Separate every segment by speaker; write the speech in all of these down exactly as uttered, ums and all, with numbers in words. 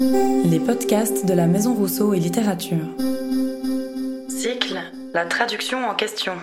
Speaker 1: Les podcasts de la Maison Rousseau et Littérature. Cycle, la traduction en question.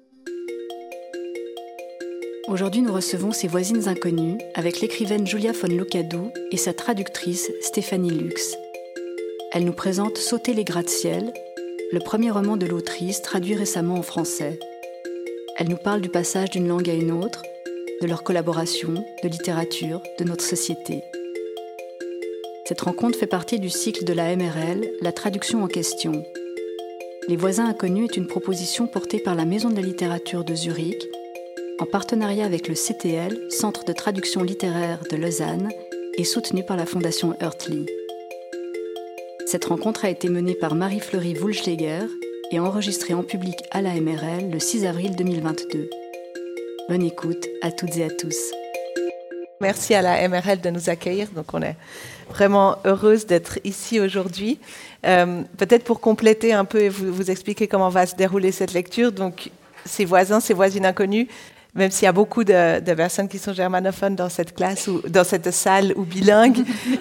Speaker 2: Aujourd'hui, nous recevons Ses voisines inconnues avec l'écrivaine Julia von Lucadou et sa traductrice Stéphanie Lux. Elle nous présente Sauter les gratte-ciel, le premier roman de l'autrice traduit récemment en français. Elle nous parle du passage d'une langue à une autre, de leur collaboration, de littérature, de notre société. Cette rencontre fait partie du cycle de la M R L, la traduction en question. Les voisins inconnus est une proposition portée par la Maison de la littérature de Zurich, en partenariat avec le C T L, Centre de traduction littéraire de Lausanne, et soutenue par la Fondation Hurtley. Cette rencontre a été menée par Marie-Fleury Wulschläger et enregistrée en public à la M R L le six avril deux mille vingt-deux. Bonne écoute à toutes et à tous.
Speaker 3: Merci à la M R L de nous accueillir. Donc on est vraiment heureuse d'être ici aujourd'hui. Euh, peut-être pour compléter un peu et vous, vous expliquer comment va se dérouler cette lecture. Donc, Ses voisins, Ses voisines inconnues, même s'il y a beaucoup de, de personnes qui sont germanophones dans cette classe ou dans cette salle ou bilingues.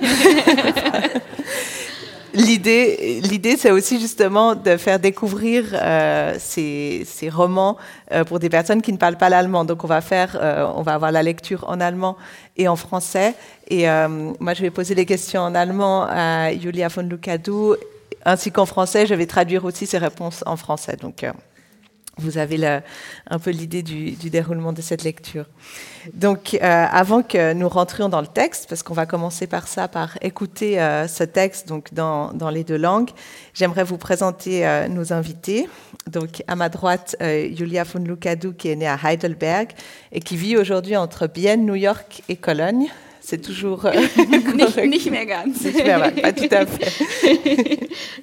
Speaker 3: L'idée, l'idée, c'est aussi justement de faire découvrir euh, ces, ces romans euh, pour des personnes qui ne parlent pas l'allemand. Donc, on va faire, euh, on va avoir la lecture en allemand et en français. Et euh, moi, je vais poser les questions en allemand à Julia von Lucadou, ainsi qu'en français. Je vais traduire aussi ses réponses en français. Donc, euh, vous avez le, un peu l'idée du, du déroulement de cette lecture. Donc, euh, avant que nous rentrions dans le texte, parce qu'on va commencer par ça, par écouter euh, ce texte donc dans, dans les deux langues, j'aimerais vous présenter euh, nos invités. Donc, à ma droite, euh, Julia von Lucadou, qui est née à Heidelberg et qui vit aujourd'hui entre Bienne, New York et Cologne. C'est toujours... Euh,
Speaker 4: nicht, nicht mehr ganz.
Speaker 3: Nicht mehr, pas tout à fait.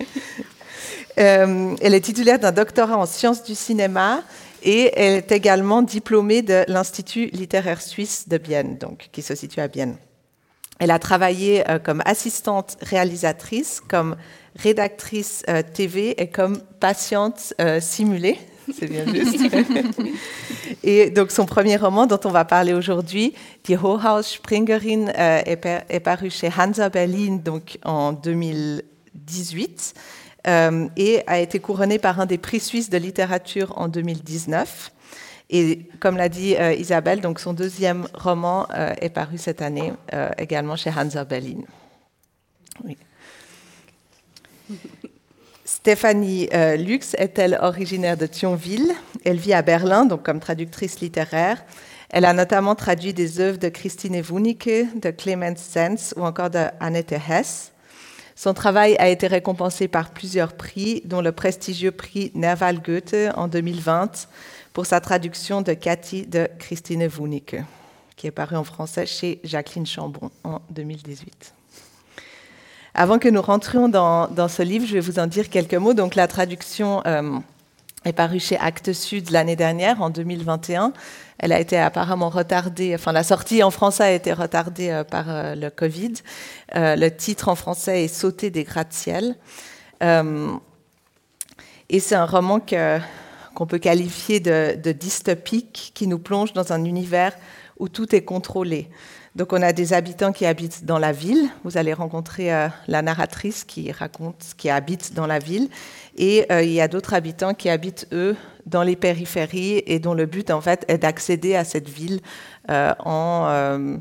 Speaker 3: Euh, elle est titulaire d'un doctorat en sciences du cinéma et elle est également diplômée de l'Institut littéraire suisse de Bienne, donc, qui se situe à Bienne. Elle a travaillé euh, comme assistante réalisatrice, comme rédactrice euh, T V et comme patiente euh, simulée. C'est bien juste. Et donc son premier roman dont on va parler aujourd'hui, Die Hochhaus-Springerin, euh, est, par, est paru chez Hansa Berlin donc, en deux mille dix-huit. Euh, et a été couronné par un des prix suisses de littérature en deux mille dix-neuf. Et comme l'a dit euh, Isabelle, donc son deuxième roman euh, est paru cette année, euh, également chez Hansa Berlin. Oui. Stéphanie euh, Lux est-elle originaire de Thionville. Elle vit à Berlin, donc comme traductrice littéraire. Elle a notamment traduit des œuvres de Christine Wunicke, de Clemens Sens ou encore de Annette Hess. Son travail a été récompensé par plusieurs prix, dont le prestigieux prix Nerval Goethe en deux mille vingt pour sa traduction de Cathy de Christine Wunicke, qui est paru en français chez Jacqueline Chambon en deux mille dix-huit. Avant que nous rentrions dans, dans ce livre, je vais vous en dire quelques mots. Donc, la traduction euh, est parue chez Actes Sud l'année dernière, en deux mille vingt et un. Elle a été apparemment retardée, enfin la sortie en français a été retardée euh, par euh, le Covid. Euh, le titre en français est Sauter des gratte-ciel. Euh, et c'est un roman que, qu'on peut qualifier de, de dystopique, qui nous plonge dans un univers où tout est contrôlé. Donc on a des habitants qui habitent dans la ville. Vous allez rencontrer euh, la narratrice qui raconte, qui habite dans la ville. Et euh, il y a d'autres habitants qui habitent, eux, dans les périphéries et dont le but, en fait, est d'accéder à cette ville euh, en, euh,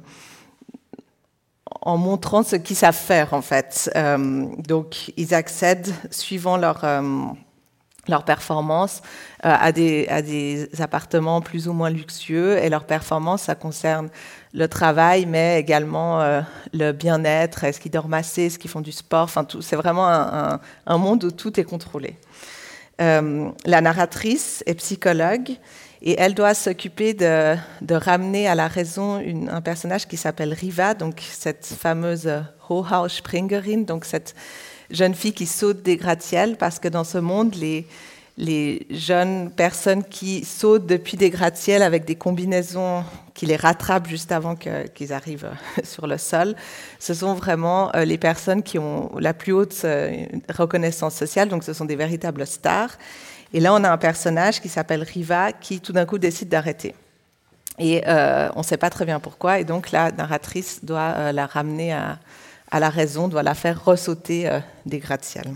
Speaker 3: en montrant ce qu'ils savent faire, en fait. Euh, donc, ils accèdent, suivant leur, euh, leur performance, euh, à, des, à des appartements plus ou moins luxueux. Et leur performance, ça concerne le travail, mais également euh, le bien-être. Est-ce qu'ils dorment assez? Est-ce qu'ils font du sport? Enfin, tout, c'est vraiment un, un, un monde où tout est contrôlé. Euh, la narratrice est psychologue et elle doit s'occuper de, de ramener à la raison une, un personnage qui s'appelle Riva, donc cette fameuse Hochhaus-Springerin, donc cette jeune fille qui saute des gratte-ciels, parce que dans ce monde, les, les jeunes personnes qui sautent depuis des gratte-ciels avec des combinaisons qui les rattrapent juste avant que, qu'ils arrivent sur le sol, ce sont vraiment les personnes qui ont la plus haute reconnaissance sociale, donc ce sont des véritables stars. Et là, on a un personnage qui s'appelle Riva qui, tout d'un coup, décide d'arrêter. Et euh, on ne sait pas très bien pourquoi, et donc la narratrice doit euh, la ramener à, à la raison doit la faire ressauter euh, des gratte-ciels.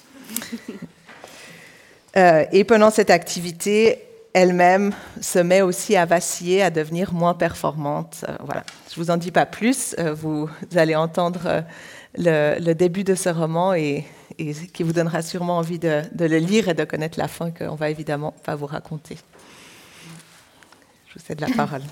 Speaker 3: euh, et pendant cette activité, elle-même se met aussi à vaciller, à devenir moins performante. Euh, voilà. Je ne vous en dis pas plus, euh, vous allez entendre euh, le, le début de ce roman et, et qui vous donnera sûrement envie de, de le lire et de connaître la fin qu'on ne va évidemment pas vous raconter. Je vous cède la parole.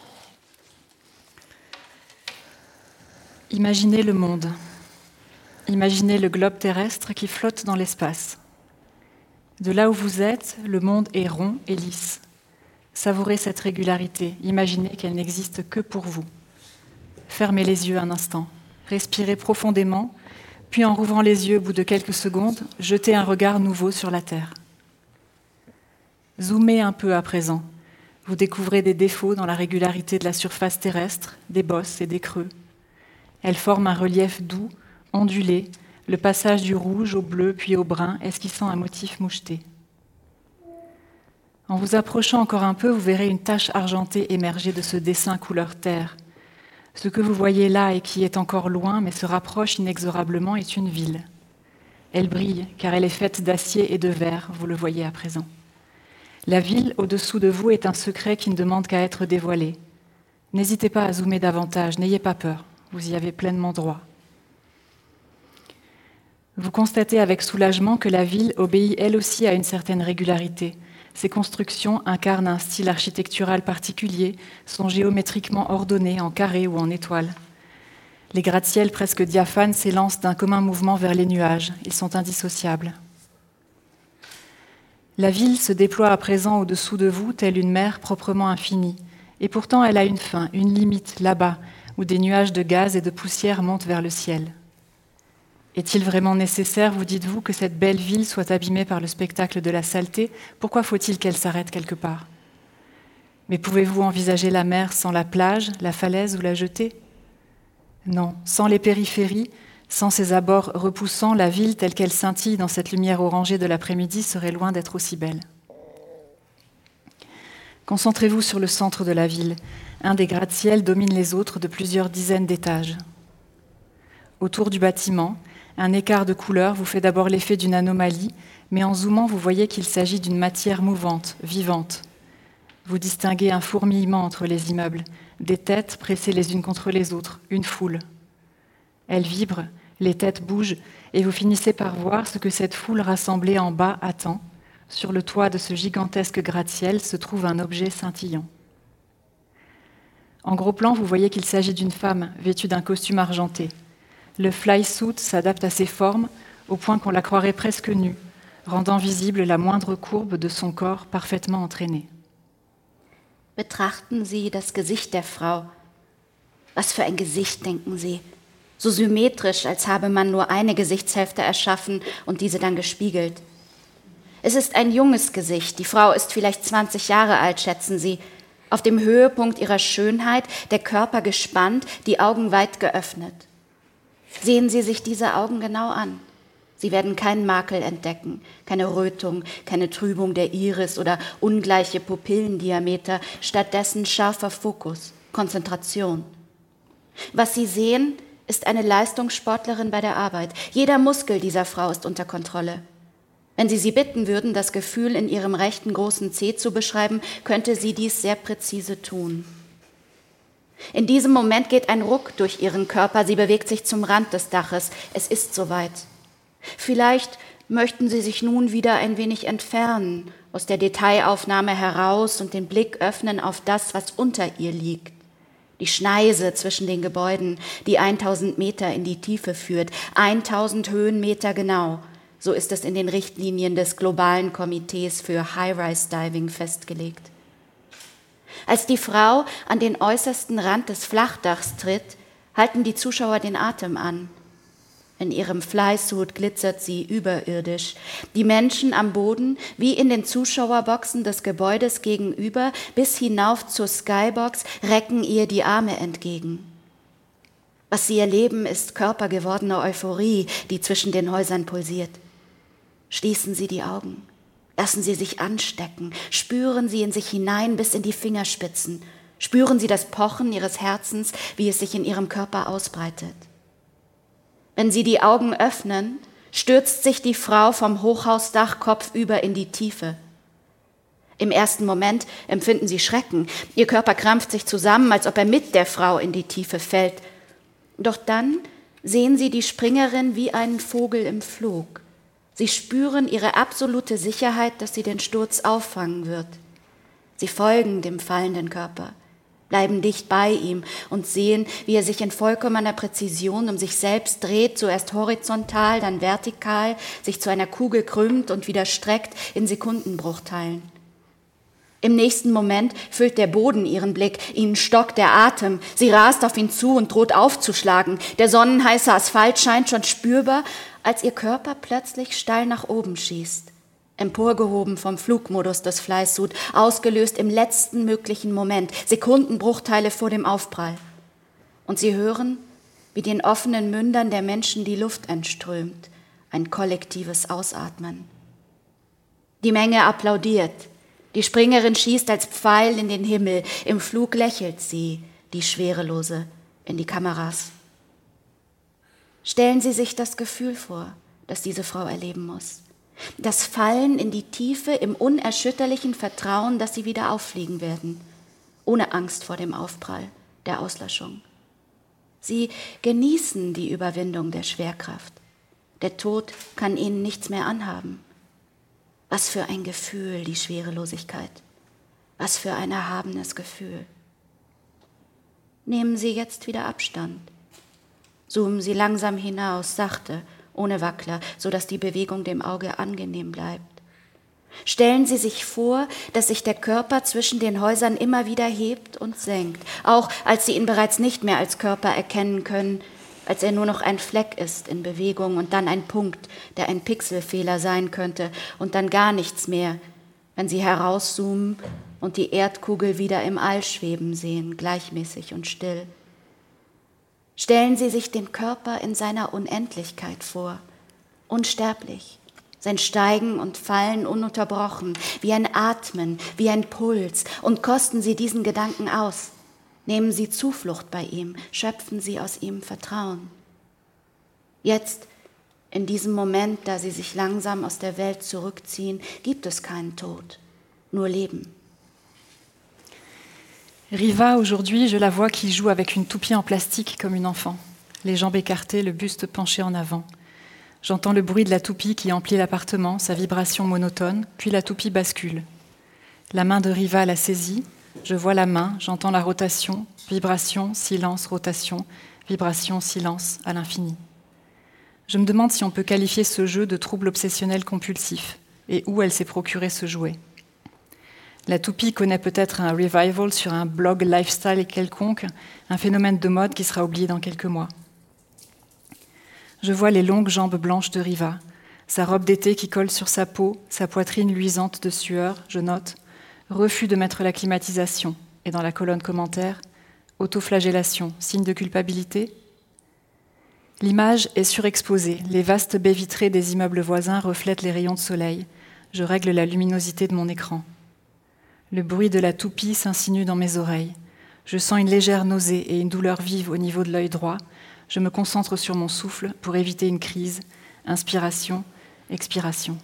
Speaker 2: Imaginez le monde. Imaginez le globe terrestre qui flotte dans l'espace. De là où vous êtes, le monde est rond et lisse. Savourez cette régularité, imaginez qu'elle n'existe que pour vous. Fermez les yeux un instant, respirez profondément, puis en rouvrant les yeux au bout de quelques secondes, jetez un regard nouveau sur la Terre. Zoomez un peu à présent. Vous découvrez des défauts dans la régularité de la surface terrestre, des bosses et des creux. Elle forme un relief doux, ondulé, le passage du rouge au bleu puis au brun, esquissant un motif moucheté. En vous approchant encore un peu, vous verrez une tache argentée émerger de ce dessin couleur terre. Ce que vous voyez là et qui est encore loin, mais se rapproche inexorablement, est une ville. Elle brille, car elle est faite d'acier et de verre, vous le voyez à présent. La ville, au-dessous de vous, est un secret qui ne demande qu'à être dévoilé. N'hésitez pas à zoomer davantage, n'ayez pas peur, vous y avez pleinement droit. Vous constatez avec soulagement que la ville obéit elle aussi à une certaine régularité. Ses constructions incarnent un style architectural particulier, sont géométriquement ordonnées en carrés ou en étoiles. Les gratte-ciels presque diaphanes s'élancent d'un commun mouvement vers les nuages, ils sont indissociables. La ville se déploie à présent au-dessous de vous, telle une mer proprement infinie, et pourtant elle a une fin, une limite, là-bas, où des nuages de gaz et de poussière montent vers le ciel. Est-il vraiment nécessaire, vous dites-vous, que cette belle ville soit abîmée par le spectacle de la saleté ? Pourquoi faut-il qu'elle s'arrête quelque part ? Mais pouvez-vous envisager la mer sans la plage, la falaise ou la jetée ? Non, sans les périphéries, sans ses abords repoussants, la ville telle qu'elle scintille dans cette lumière orangée de l'après-midi serait loin d'être aussi belle. Concentrez-vous sur le centre de la ville. Un des gratte-ciels domine les autres de plusieurs dizaines d'étages. Autour du bâtiment, un écart de couleur vous fait d'abord l'effet d'une anomalie, mais en zoomant, vous voyez qu'il s'agit d'une matière mouvante, vivante. Vous distinguez un fourmillement entre les immeubles, des têtes pressées les unes contre les autres, une foule. Elles vibrent, les têtes bougent, et vous finissez par voir ce que cette foule rassemblée en bas attend. Sur le toit de ce gigantesque gratte-ciel se trouve un objet scintillant. En gros plan, vous voyez qu'il s'agit d'une femme vêtue d'un costume argenté. Le fly-suit s'adapte à ses formes au point qu'on la croirait presque nue, rendant visible la moindre courbe de son corps parfaitement entraîné.
Speaker 5: Betrachten Sie das Gesicht der Frau. Was für ein Gesicht, denken Sie. So symmetrisch, als habe man nur eine Gesichtshälfte erschaffen und diese dann gespiegelt. Es ist ein junges Gesicht. Die Frau ist vielleicht zwanzig Jahre alt, schätzen Sie. Auf dem Höhepunkt ihrer Schönheit, der Körper gespannt, die Augen weit geöffnet. Sehen Sie sich diese Augen genau an. Sie werden keinen Makel entdecken, keine Rötung, keine Trübung der Iris oder ungleiche Pupillendiameter, stattdessen scharfer Fokus, Konzentration. Was Sie sehen, ist eine Leistungssportlerin bei der Arbeit. Jeder Muskel dieser Frau ist unter Kontrolle. Wenn Sie sie bitten würden, das Gefühl in ihrem rechten großen Zeh zu beschreiben, könnte sie dies sehr präzise tun. In diesem Moment geht ein Ruck durch ihren Körper, sie bewegt sich zum Rand des Daches. Es ist soweit. Vielleicht möchten Sie sich nun wieder ein wenig entfernen, aus der Detailaufnahme heraus und den Blick öffnen auf das, was unter ihr liegt. Die Schneise zwischen den Gebäuden, die tausend Meter in die Tiefe führt, tausend Höhenmeter genau. So ist es in den Richtlinien des globalen Komitees für High-Rise-Diving festgelegt. Als die Frau an den äußersten Rand des Flachdachs tritt, halten die Zuschauer den Atem an. In ihrem Flysuit glitzert sie überirdisch. Die Menschen am Boden, wie in den Zuschauerboxen des Gebäudes gegenüber, bis hinauf zur Skybox, recken ihr die Arme entgegen. Was sie erleben, ist körpergewordene Euphorie, die zwischen den Häusern pulsiert. Schließen Sie die Augen. Lassen Sie sich anstecken, spüren Sie in sich hinein bis in die Fingerspitzen, spüren Sie das Pochen Ihres Herzens, wie es sich in Ihrem Körper ausbreitet. Wenn sie die Augen öffnen, stürzt sich die Frau vom Hochhausdach kopfüber in die Tiefe. Im ersten Moment empfinden sie Schrecken. Ihr Körper krampft sich zusammen, als ob er mit der Frau in die Tiefe fällt. Doch dann sehen sie die Springerin wie einen Vogel im Flug. Sie spüren ihre absolute Sicherheit, dass sie den Sturz auffangen wird. Sie folgen dem fallenden Körper, bleiben dicht bei ihm und sehen, wie er sich in vollkommener Präzision um sich selbst dreht, zuerst horizontal, dann vertikal, sich zu einer Kugel krümmt und wieder streckt in Sekundenbruchteilen. Im nächsten Moment füllt der Boden ihren Blick, ihnen stockt der Atem. Sie rast auf ihn zu und droht aufzuschlagen. Der sonnenheiße Asphalt scheint schon spürbar, als ihr Körper plötzlich steil nach oben schießt. Emporgehoben vom Flugmodus des Flysuit, ausgelöst im letzten möglichen Moment, Sekundenbruchteile vor dem Aufprall. Und sie hören, wie den offenen Mündern der Menschen die Luft entströmt, ein kollektives Ausatmen. Die Menge applaudiert. Die Springerin schießt als Pfeil in den Himmel. Im Flug lächelt sie, die Schwerelose, in die Kameras. Stellen Sie sich das Gefühl vor, das diese Frau erleben muss. Das Fallen in die Tiefe im unerschütterlichen Vertrauen, dass sie wieder auffliegen werden, ohne Angst vor dem Aufprall, der Auslöschung. Sie genießen die Überwindung der Schwerkraft. Der Tod kann ihnen nichts mehr anhaben. Was für ein Gefühl, die Schwerelosigkeit. Was für ein erhabenes Gefühl. Nehmen Sie jetzt wieder Abstand. Zoomen Sie langsam hinaus, sachte, ohne Wackler, sodass die Bewegung dem Auge angenehm bleibt. Stellen Sie sich vor, dass sich der Körper zwischen den Häusern immer wieder hebt und senkt, auch als Sie ihn bereits nicht mehr als Körper erkennen können, als er nur noch ein Fleck ist in Bewegung und dann ein Punkt, der ein Pixelfehler sein könnte und dann gar nichts mehr, wenn Sie herauszoomen und die Erdkugel wieder im All schweben sehen, gleichmäßig und still. Stellen Sie sich den Körper in seiner Unendlichkeit vor, unsterblich, sein Steigen und Fallen ununterbrochen, wie ein Atmen, wie ein Puls, und kosten Sie diesen Gedanken aus. Nehmen Sie Zuflucht bei ihm, schöpfen Sie aus ihm Vertrauen. Jetzt, in diesem Moment, da Sie sich langsam aus der Welt zurückziehen, gibt es keinen Tod, nur Leben.
Speaker 2: Riva, aujourd'hui, je la vois qui joue avec une toupie en plastique comme une enfant, les jambes écartées, le buste penché en avant. J'entends le bruit de la toupie qui emplit l'appartement, sa vibration monotone, puis la toupie bascule. La main de Riva la saisit, je vois la main, j'entends la rotation, vibration, silence, rotation, vibration, silence, à l'infini. Je me demande si on peut qualifier ce jeu de trouble obsessionnel compulsif, et où elle s'est procuré ce jouet. La toupie connaît peut-être un revival sur un blog lifestyle quelconque, un phénomène de mode qui sera oublié dans quelques mois. Je vois les longues jambes blanches de Riva, sa robe d'été qui colle sur sa peau, sa poitrine luisante de sueur, je note, refus de mettre la climatisation, et dans la colonne commentaire, autoflagellation, signe de culpabilité. L'image est surexposée, les vastes baies vitrées des immeubles voisins reflètent les rayons de soleil, je règle la luminosité de mon écran. Le bruit de la toupie s'insinue dans mes oreilles. Je sens une légère nausée et une douleur vive au niveau de l'œil droit. Je me concentre sur mon souffle pour éviter une crise. Inspiration, expiration.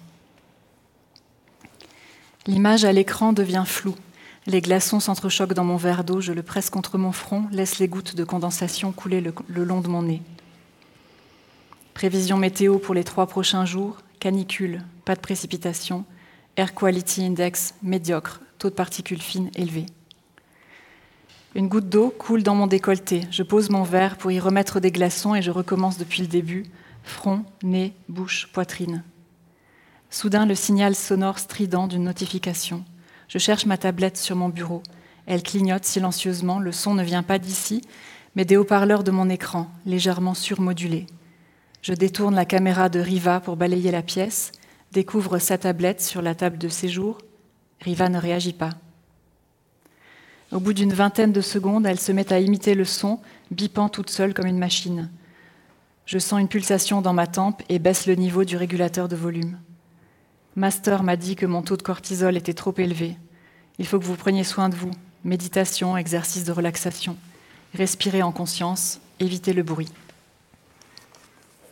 Speaker 2: L'image à l'écran devient floue. Les glaçons s'entrechoquent dans mon verre d'eau. Je le presse contre mon front, laisse les gouttes de condensation couler le, le long de mon nez. Prévision météo pour les trois prochains jours. Canicule, pas de précipitation. Air Quality Index médiocre. Taux de particules fines élevé. Une goutte d'eau coule dans mon décolleté. Je pose mon verre pour y remettre des glaçons et je recommence depuis le début. Front, nez, bouche, poitrine. Soudain, le signal sonore strident d'une notification. Je cherche ma tablette sur mon bureau. Elle clignote silencieusement. Le son ne vient pas d'ici, mais des haut-parleurs de mon écran, légèrement surmodulés. Je détourne la caméra de Riva pour balayer la pièce, découvre sa tablette sur la table de séjour. Riva ne réagit pas. Au bout d'une vingtaine de secondes, elle se met à imiter le son, bipant toute seule comme une machine. Je sens une pulsation dans ma tempe et baisse le niveau du régulateur de volume. Master m'a dit que mon taux de cortisol était trop élevé. Il faut que vous preniez soin de vous. Méditation, exercice de relaxation. Respirez en conscience, évitez le bruit.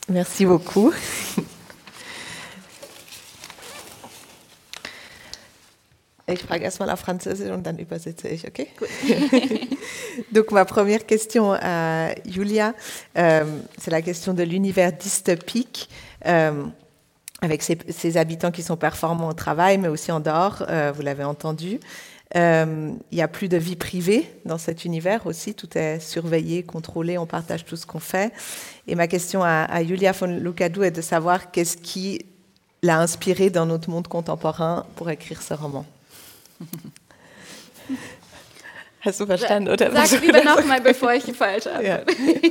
Speaker 3: Merci beaucoup. Ich frage erstmal auf Französisch und dann übersetze ich, okay?
Speaker 5: Gut.
Speaker 3: Donc ma première question à Julia, euh, c'est la question de l'univers dystopique, euh, avec ces, ces habitants qui sont performants au travail, mais aussi en dehors, euh, vous l'avez entendu. Euh, il n'y a plus de vie privée dans cet univers aussi, tout est surveillé, contrôlé, on partage tout ce qu'on fait. Et ma question à, à Julia von Lucadou est de savoir qu'est-ce qui l'a inspirée dans notre monde contemporain pour écrire ce roman. Hast du verstanden, oder?
Speaker 4: Sag lieber nochmal, bevor ich falsch habe.
Speaker 3: Ja.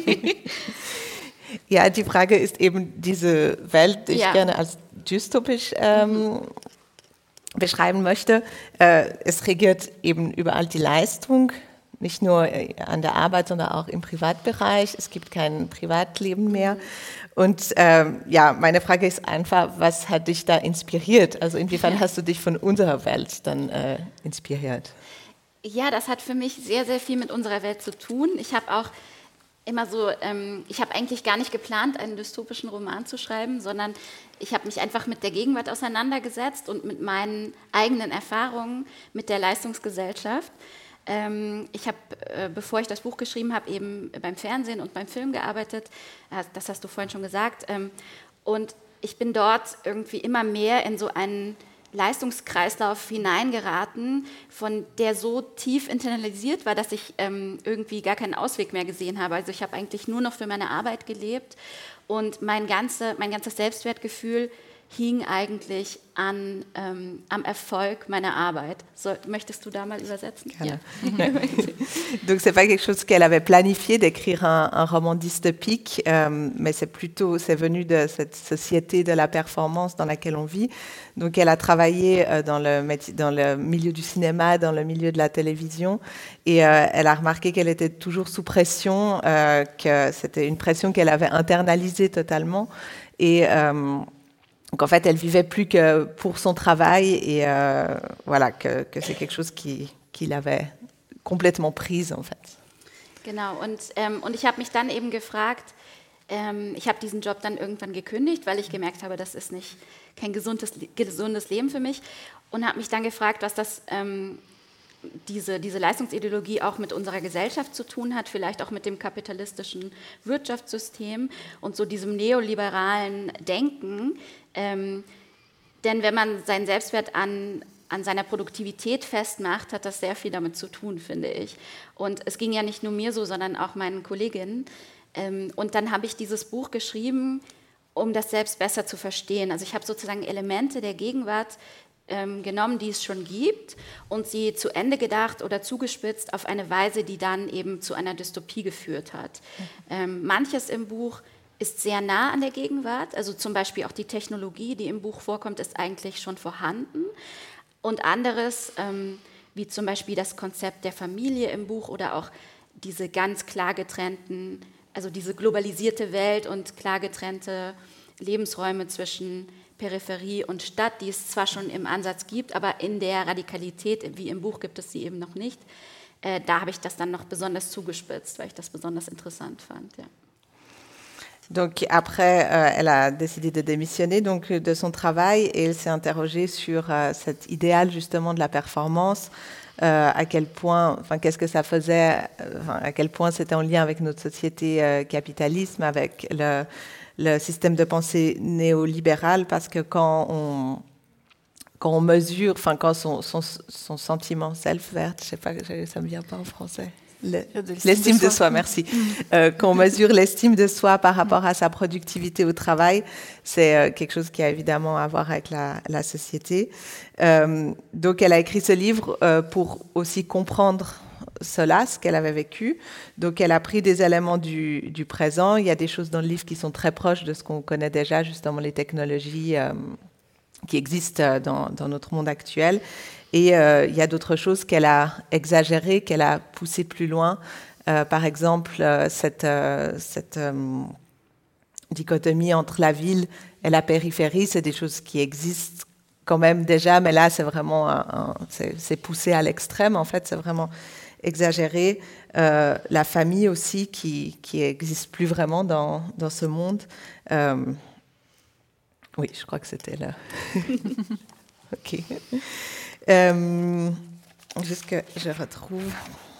Speaker 3: Ja, die Frage ist eben diese Welt, die ja. ich gerne als dystopisch ähm, mhm. beschreiben möchte. Äh, es regiert eben überall die Leistung, nicht nur an der Arbeit, sondern auch im Privatbereich. Es gibt kein Privatleben mehr. Und ähm, ja, meine Frage ist einfach, was hat dich da inspiriert? Also inwiefern hast du dich von unserer Welt dann äh, inspiriert?
Speaker 5: Ja, das hat für mich sehr, sehr viel mit unserer Welt zu tun. Ich habe auch immer so, ähm, ich habe eigentlich gar nicht geplant, einen dystopischen Roman zu schreiben, sondern ich habe mich einfach mit der Gegenwart auseinandergesetzt und mit meinen eigenen Erfahrungen mit der Leistungsgesellschaft. Ähm, ich habe, äh, bevor ich das Buch geschrieben habe, eben beim Fernsehen und beim Film gearbeitet. Das hast du vorhin schon gesagt. Ähm, und ich bin dort irgendwie immer mehr in so einen Leistungskreislauf hineingeraten, von der so tief internalisiert war, dass ich ähm, irgendwie gar keinen Ausweg mehr gesehen habe. Also ich habe eigentlich nur noch für meine Arbeit gelebt und mein, ganze, mein ganzes Selbstwertgefühl hing eigentlich an, ähm, am Erfolg meiner Arbeit. So, möchtest du da mal übersetzen?
Speaker 3: Ja. Donc c'est pas quelque chose qu'elle avait planifié d'écrire un, un roman dystopique, euh, mais c'est plutôt, c'est venu de cette société de la performance dans laquelle on vit. Donc elle a travaillé euh, dans, le, dans le milieu du cinéma, dans le milieu de la télévision, et euh, elle a remarqué qu'elle était toujours sous pression, euh, que c'était une pression qu'elle avait internalisée totalement, et euh, donc en fait, elle vivait plus que pour son travail et euh, voilà, que, que c'est quelque chose qui, qui l'avait complètement prise en fait.
Speaker 5: Genau, und, ähm, und ich habe mich dann eben gefragt, ähm, ich habe diesen Job dann irgendwann gekündigt, weil ich gemerkt habe, das ist nicht kein gesundes, gesundes Leben für mich und habe mich dann gefragt, was das ähm, Diese, diese Leistungsideologie auch mit unserer Gesellschaft zu tun hat, vielleicht auch mit dem kapitalistischen Wirtschaftssystem und so diesem neoliberalen Denken. Ähm, denn wenn man seinen Selbstwert an, an seiner Produktivität festmacht, hat das sehr viel damit zu tun, finde ich. Und es ging ja nicht nur mir so, sondern auch meinen Kolleginnen. Ähm, und dann habe ich dieses Buch geschrieben, um das selbst besser zu verstehen. Also ich habe sozusagen Elemente der Gegenwart genommen, die es schon gibt und sie zu Ende gedacht oder zugespitzt auf eine Weise, die dann eben zu einer Dystopie geführt hat. Mhm. Ähm, manches im Buch ist sehr nah an der Gegenwart, also zum Beispiel auch die Technologie, die im Buch vorkommt, ist eigentlich schon vorhanden und anderes, ähm, wie zum Beispiel das Konzept der Familie im Buch oder auch diese ganz klar getrennten, also diese globalisierte Welt und klar getrennte Lebensräume zwischen Peripherie und Stadt, die es zwar schon im Ansatz gibt, aber in der Radikalität, wie im Buch, gibt es sie eben noch nicht. Äh, da habe ich das dann noch besonders zugespitzt, weil ich das besonders interessant fand. Ja.
Speaker 3: Donc après, euh, elle a décidé de démissionner donc, de son travail et elle s'est interrogée sur euh, cet idéal justement de la performance, euh, à quel point, enfin qu'est-ce que ça faisait, enfin, à quel point c'était en lien avec notre société euh, capitalisme, avec le le système de pensée néolibéral, parce que quand on, quand on mesure, enfin quand son, son, son sentiment self-worth, je sais pas, ça me vient pas en français, le, l'estime de, de soi, merci. euh, quand on mesure l'estime de soi par rapport à sa productivité au travail, c'est euh, quelque chose qui a évidemment à voir avec la, la société. Euh, donc elle a écrit ce livre euh, pour aussi comprendre cela, ce qu'elle avait vécu. Donc, elle a pris des éléments du, du présent. Il y a des choses dans le livre qui sont très proches de ce qu'on connaît déjà, justement les technologies euh, qui existent dans, dans notre monde actuel. Et euh, il y a d'autres choses qu'elle a exagérées, qu'elle a poussées plus loin. Euh, par exemple, euh, cette, euh, cette euh, dichotomie entre la ville et la périphérie, c'est des choses qui existent quand même déjà, mais là, c'est vraiment un, un, c'est, c'est poussé à l'extrême, en fait, c'est vraiment exagéré, euh, la famille aussi qui qui existe plus vraiment dans dans ce monde. Euh, oui, je crois que c'était là. Ok. Euh, juste que je retrouve.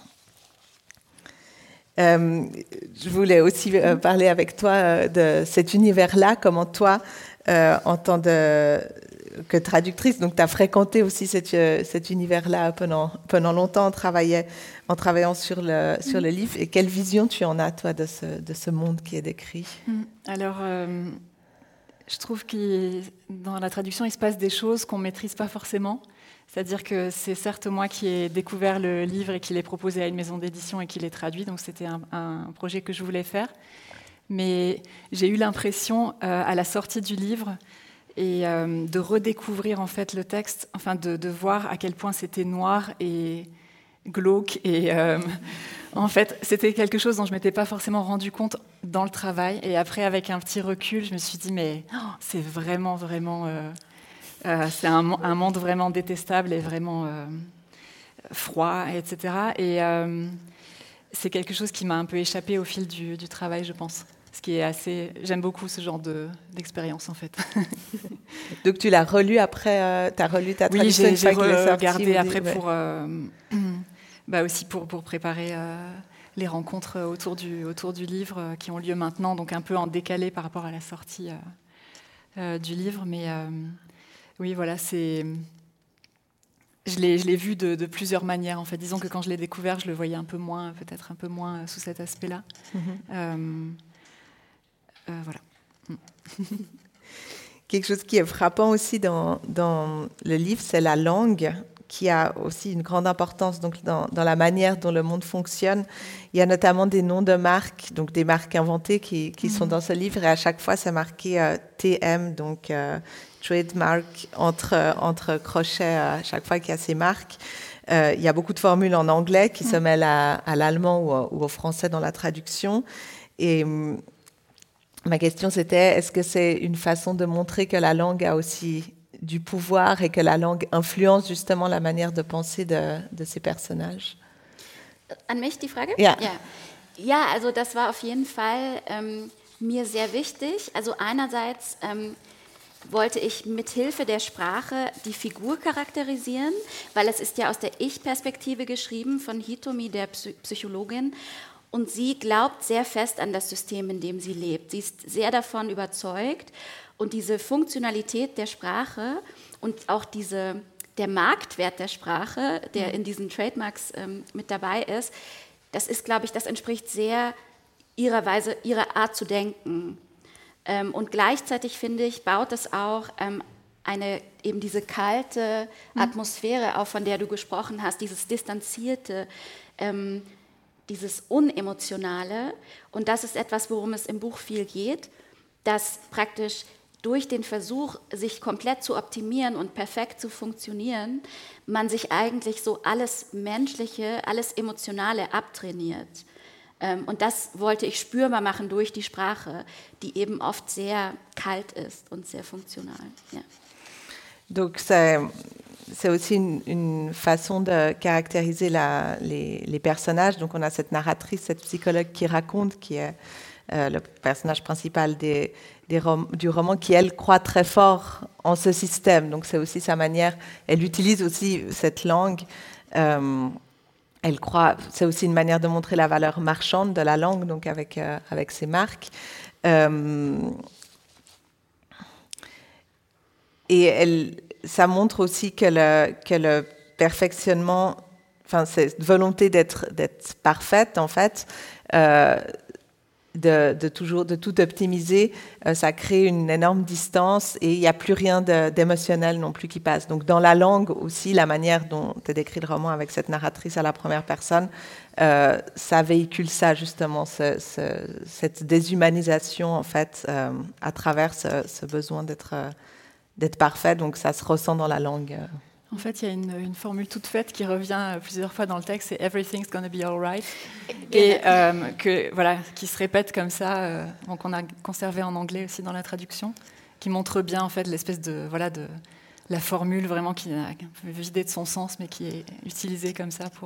Speaker 3: Euh, je voulais aussi euh, parler avec toi euh, de cet univers-là, comment toi, euh, en tant de, que traductrice, donc tu as fréquenté aussi cet, euh, cet univers-là pendant, pendant longtemps, on travaillait, en travaillant sur le, sur le livre. Et quelle vision tu en as, toi, de ce, de ce monde qui est décrit?
Speaker 4: Alors, euh, je trouve que dans la traduction, il se passe des choses qu'on ne maîtrise pas forcément. C'est-à-dire que c'est certes moi qui ai découvert le livre et qui l'ai proposé à une maison d'édition et qui l'ai traduit, donc c'était un, un projet que je voulais faire. Mais j'ai eu l'impression, euh, à la sortie du livre, et euh, de redécouvrir en fait le texte, enfin de, de voir à quel point c'était noir et glauque. Et euh, en fait, c'était quelque chose dont je ne m'étais pas forcément rendu compte dans le travail. Et après, avec un petit recul, je me suis dit, mais oh, c'est vraiment, vraiment... Euh, Euh, c'est un, un monde vraiment détestable et vraiment euh, froid, et cetera. Et euh, c'est quelque chose qui m'a un peu échappé au fil du, du travail, je pense. Ce qui est assez... J'aime beaucoup ce genre de, d'expérience, en fait.
Speaker 3: Donc tu l'as relu après, euh, tu as relu ta traduction?
Speaker 4: Oui, j'ai, j'ai regardé après ouais. pour, euh, bah aussi pour, pour préparer euh, les rencontres autour du, autour du livre euh, qui ont lieu maintenant, donc un peu en décalé par rapport à la sortie euh, euh, du livre, mais... Euh, Oui, voilà, c'est... Je l'ai, je l'ai vu de, de plusieurs manières, en fait. Disons que quand je l'ai découvert, je le voyais un peu moins, peut-être un peu moins sous cet aspect-là. Mm-hmm. Euh, euh, voilà.
Speaker 3: Quelque chose qui est frappant aussi dans, dans le livre, c'est la langue, qui a aussi une grande importance donc, dans, dans la manière dont le monde fonctionne. Il y a notamment des noms de marques, donc des marques inventées qui, qui mm-hmm. sont dans ce livre, et à chaque fois, c'est marqué euh, T M, donc... Euh, trademark entre, entre crochets à chaque fois qu'il y a ces marques. Euh, il y a beaucoup de formules en anglais qui mmh. se mêlent à, à l'allemand ou, à, ou au français dans la traduction. Et hum, ma question, c'était, est-ce que c'est une façon de montrer que la langue a aussi du pouvoir et que la langue influence justement la manière de penser de, de ces personnages?
Speaker 5: An mich die Frage?
Speaker 3: Ja.
Speaker 5: Ja. Ja, also das war auf jeden Fall ähm, mir sehr wichtig. Also einerseits... Ähm, wollte ich mithilfe der Sprache die Figur charakterisieren, weil es ist ja aus der Ich-Perspektive geschrieben von Hitomi, der Psychologin, und sie glaubt sehr fest an das System, in dem sie lebt. Sie ist sehr davon überzeugt und diese Funktionalität der Sprache und auch diese, der Marktwert der Sprache, der in diesen Trademarks ähm, mit dabei ist, das ist, glaube ich, das entspricht sehr ihrer Weise, ihrer Art zu denken. Ähm, und gleichzeitig, finde ich, baut es auch ähm, eine, eben diese kalte Atmosphäre auf, von der du gesprochen hast, dieses Distanzierte, ähm, dieses Unemotionale. Und das ist etwas, worum es im Buch viel geht, dass praktisch durch den Versuch, sich komplett zu optimieren und perfekt zu funktionieren, man sich eigentlich so alles Menschliche, alles Emotionale abtrainiert. Und das wollte ich spürbar machen durch die Sprache, die eben oft sehr kalt ist und sehr funktional. Ja.
Speaker 3: Donc c'est, c'est aussi une, une façon de caractériser la, les, les personnages. Donc on a cette narratrice, cette psychologue qui raconte, qui est euh, le personnage principal des, des rom- du roman, qui elle croit très fort en ce système. Donc c'est aussi sa manière, elle utilise aussi cette langue. Euh, Elle croit, c'est aussi une manière de montrer la valeur marchande de la langue, donc avec, euh, avec ses marques. Euh, et elle, ça montre aussi que le, que le perfectionnement, enfin, cette volonté d'être, d'être parfaite, en fait, euh, de, de, toujours, de tout optimiser, euh, ça crée une énorme distance et il n'y a plus rien de, d'émotionnel non plus qui passe. Donc dans la langue aussi, la manière dont tu as décrit le roman avec cette narratrice à la première personne, euh, ça véhicule ça justement, ce, ce, cette déshumanisation en fait, euh, à travers ce, ce besoin d'être, euh, d'être parfait. Donc ça se ressent dans la langue. Euh.
Speaker 4: En fait, il y a une, une formule toute faite qui revient plusieurs fois dans le texte, c'est « everything's gonna be all right », et euh, que, voilà, qui se répète comme ça, euh, donc on a conservé en anglais aussi dans la traduction, qui montre bien en fait l'espèce de, voilà, de la formule vraiment qui est vidée de son sens, mais qui est utilisée comme ça pour,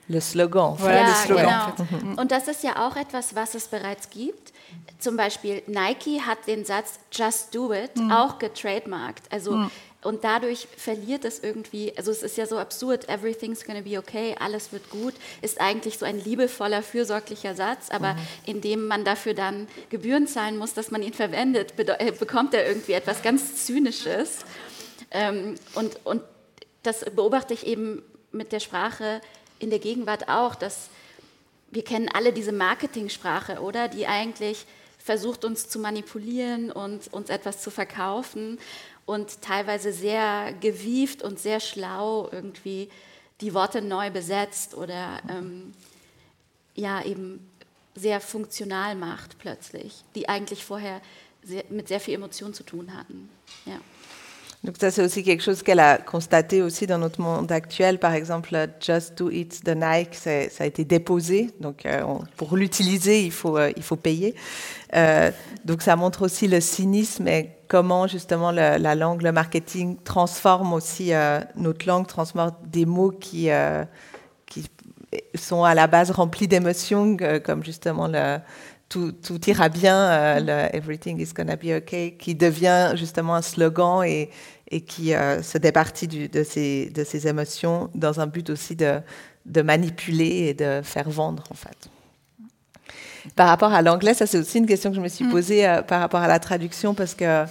Speaker 3: Le slogan.
Speaker 4: Voilà,
Speaker 5: ja,
Speaker 4: le slogan.
Speaker 5: Genau. Und das ist ja auch etwas, was es bereits gibt. Zum Beispiel Nike hat den Satz Just Do It mhm. auch getrademarkt. Also, mhm. Und dadurch verliert es irgendwie, also es ist ja so absurd, everything's gonna be okay, alles wird gut, ist eigentlich so ein liebevoller, fürsorglicher Satz, aber mhm. indem man dafür dann Gebühren zahlen muss, dass man ihn verwendet, bekommt er irgendwie etwas ganz Zynisches. Ähm, und, und das beobachte ich eben mit der Sprache in der Gegenwart auch, dass wir kennen alle diese Marketingsprache, oder? Die eigentlich versucht, uns zu manipulieren und uns etwas zu verkaufen und teilweise sehr gewieft und sehr schlau irgendwie die Worte neu besetzt oder ähm, ja, eben sehr funktional macht plötzlich, die eigentlich vorher sehr, mit sehr viel Emotion zu tun hatten. Ja.
Speaker 3: Donc ça, c'est aussi quelque chose qu'elle a constaté aussi dans notre monde actuel. Par exemple, Just Do It de Nike, ça a été déposé. Donc euh, on, pour l'utiliser, il faut, euh, il faut payer. Euh, donc ça montre aussi le cynisme et comment justement le, la langue, le marketing transforme aussi euh, notre langue, transforme des mots qui, euh, qui sont à la base remplis d'émotions, euh, comme justement le... Tout, tout ira bien, euh, le Everything is gonna be okay, qui devient justement un slogan et, et qui euh, se départit du, de, ses, de ses émotions dans un but aussi de, de manipuler et de faire vendre, en fait. Par rapport à l'anglais, ça c'est aussi une question que je me suis posée euh, par rapport à la traduction, parce que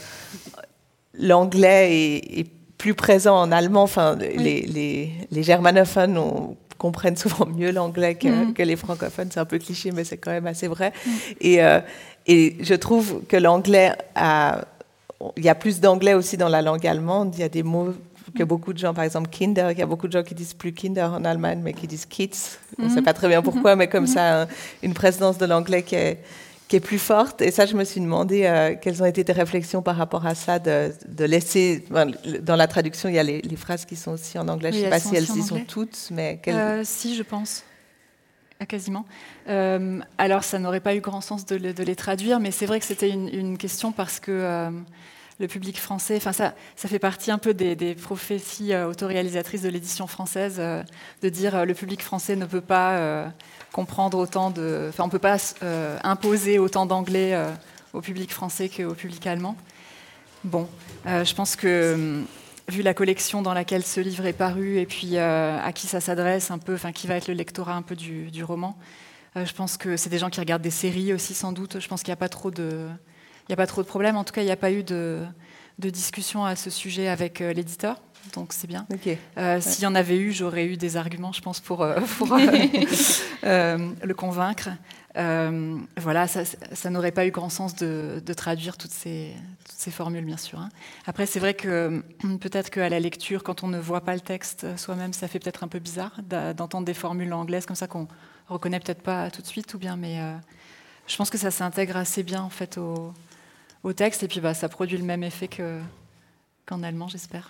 Speaker 3: l'anglais est, est plus présent en allemand. Enfin, oui. les, les, les germanophones ont comprennent souvent mieux l'anglais que, mmh. que les francophones. C'est un peu cliché, mais c'est quand même assez vrai. Mmh. Et, euh, et je trouve que l'anglais a... Il y a plus d'anglais aussi dans la langue allemande. Il y a des mots que beaucoup de gens, par exemple Kinder, il y a beaucoup de gens qui disent plus Kinder en Allemagne, mais qui disent Kids. On ne mmh. sait pas très bien pourquoi, mais comme mmh. ça, une présence de l'anglais qui est, qui est plus forte. Et ça, je me suis demandé euh, quelles ont été tes réflexions par rapport à ça, de, de laisser... Enfin, dans la traduction, il y a les, les phrases qui sont aussi en anglais.
Speaker 4: Oui,
Speaker 3: je ne sais pas si elles y
Speaker 4: sont
Speaker 3: toutes, mais... Quelles...
Speaker 4: Euh, si, je pense. Quasiment. Euh, alors, ça n'aurait pas eu grand sens de, le, de les traduire, mais c'est vrai que c'était une, une question parce que euh, le public français... Enfin, ça, ça fait partie un peu des, des prophéties euh, autoréalisatrices de l'édition française, euh, de dire euh, le public français ne peut pas... Euh, comprendre autant de... Enfin, on ne peut pas euh, imposer autant d'anglais euh, au public français qu'au public allemand. Bon, euh, je pense que, euh, vu la collection dans laquelle ce livre est paru, et puis euh, à qui ça s'adresse un peu, enfin, qui va être le lectorat un peu du, du roman, euh, je pense que c'est des gens qui regardent des séries aussi, sans doute. Je pense qu'il n'y a pas trop de... Il n'y a pas trop de problèmes. En tout cas, il n'y a pas eu de, de discussion à ce sujet avec euh, l'éditeur. Donc c'est bien. Okay. Euh, ouais. S'il y en avait eu, j'aurais eu des arguments, je pense, pour, euh, pour euh, euh, le convaincre. Euh, voilà, ça, ça n'aurait pas eu grand sens de, de traduire toutes ces, toutes ces formules, bien sûr. Hein. Après, c'est vrai que peut-être qu'à la lecture, quand on ne voit pas le texte soi-même, ça fait peut-être un peu bizarre d'entendre des formules anglaises comme ça qu'on reconnaît peut-être pas tout de suite, ou bien, mais euh, je pense que ça s'intègre assez bien en fait au, au texte, et puis bah, ça produit le même effet que, qu'en allemand, j'espère.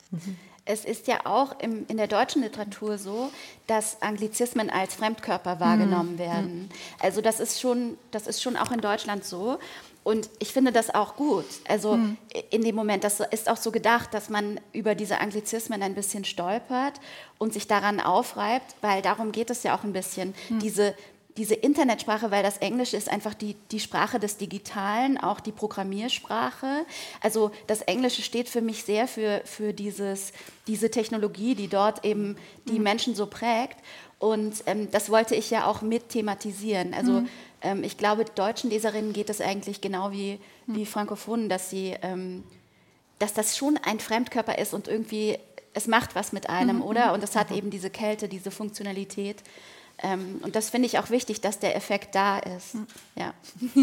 Speaker 5: Es ist ja auch im, in der deutschen Literatur so, dass Anglizismen als Fremdkörper wahrgenommen werden. Also das ist schon, das ist schon auch in Deutschland so. Und ich finde das auch gut. Also mhm. in dem Moment, das ist auch so gedacht, dass man über diese Anglizismen ein bisschen stolpert und sich daran aufreibt, weil darum geht es ja auch ein bisschen, mhm. diese Diese Internetsprache, weil das Englische ist einfach die, die Sprache des Digitalen, auch die Programmiersprache. Also das Englische steht für mich sehr für, für dieses, diese Technologie, die dort eben die mhm. Menschen so prägt. Und ähm, das wollte ich ja auch mit thematisieren. Also mhm. ähm, ich glaube, deutschen Leserinnen geht es eigentlich genau wie, mhm. wie Frankophonen, dass, sie, ähm, dass das schon ein Fremdkörper ist und irgendwie, es macht was mit einem, mhm. oder? Und es hat mhm. eben diese Kälte, diese Funktionalität. Ähm, und das finde ich auch wichtig, dass der Effekt da ist. Ja.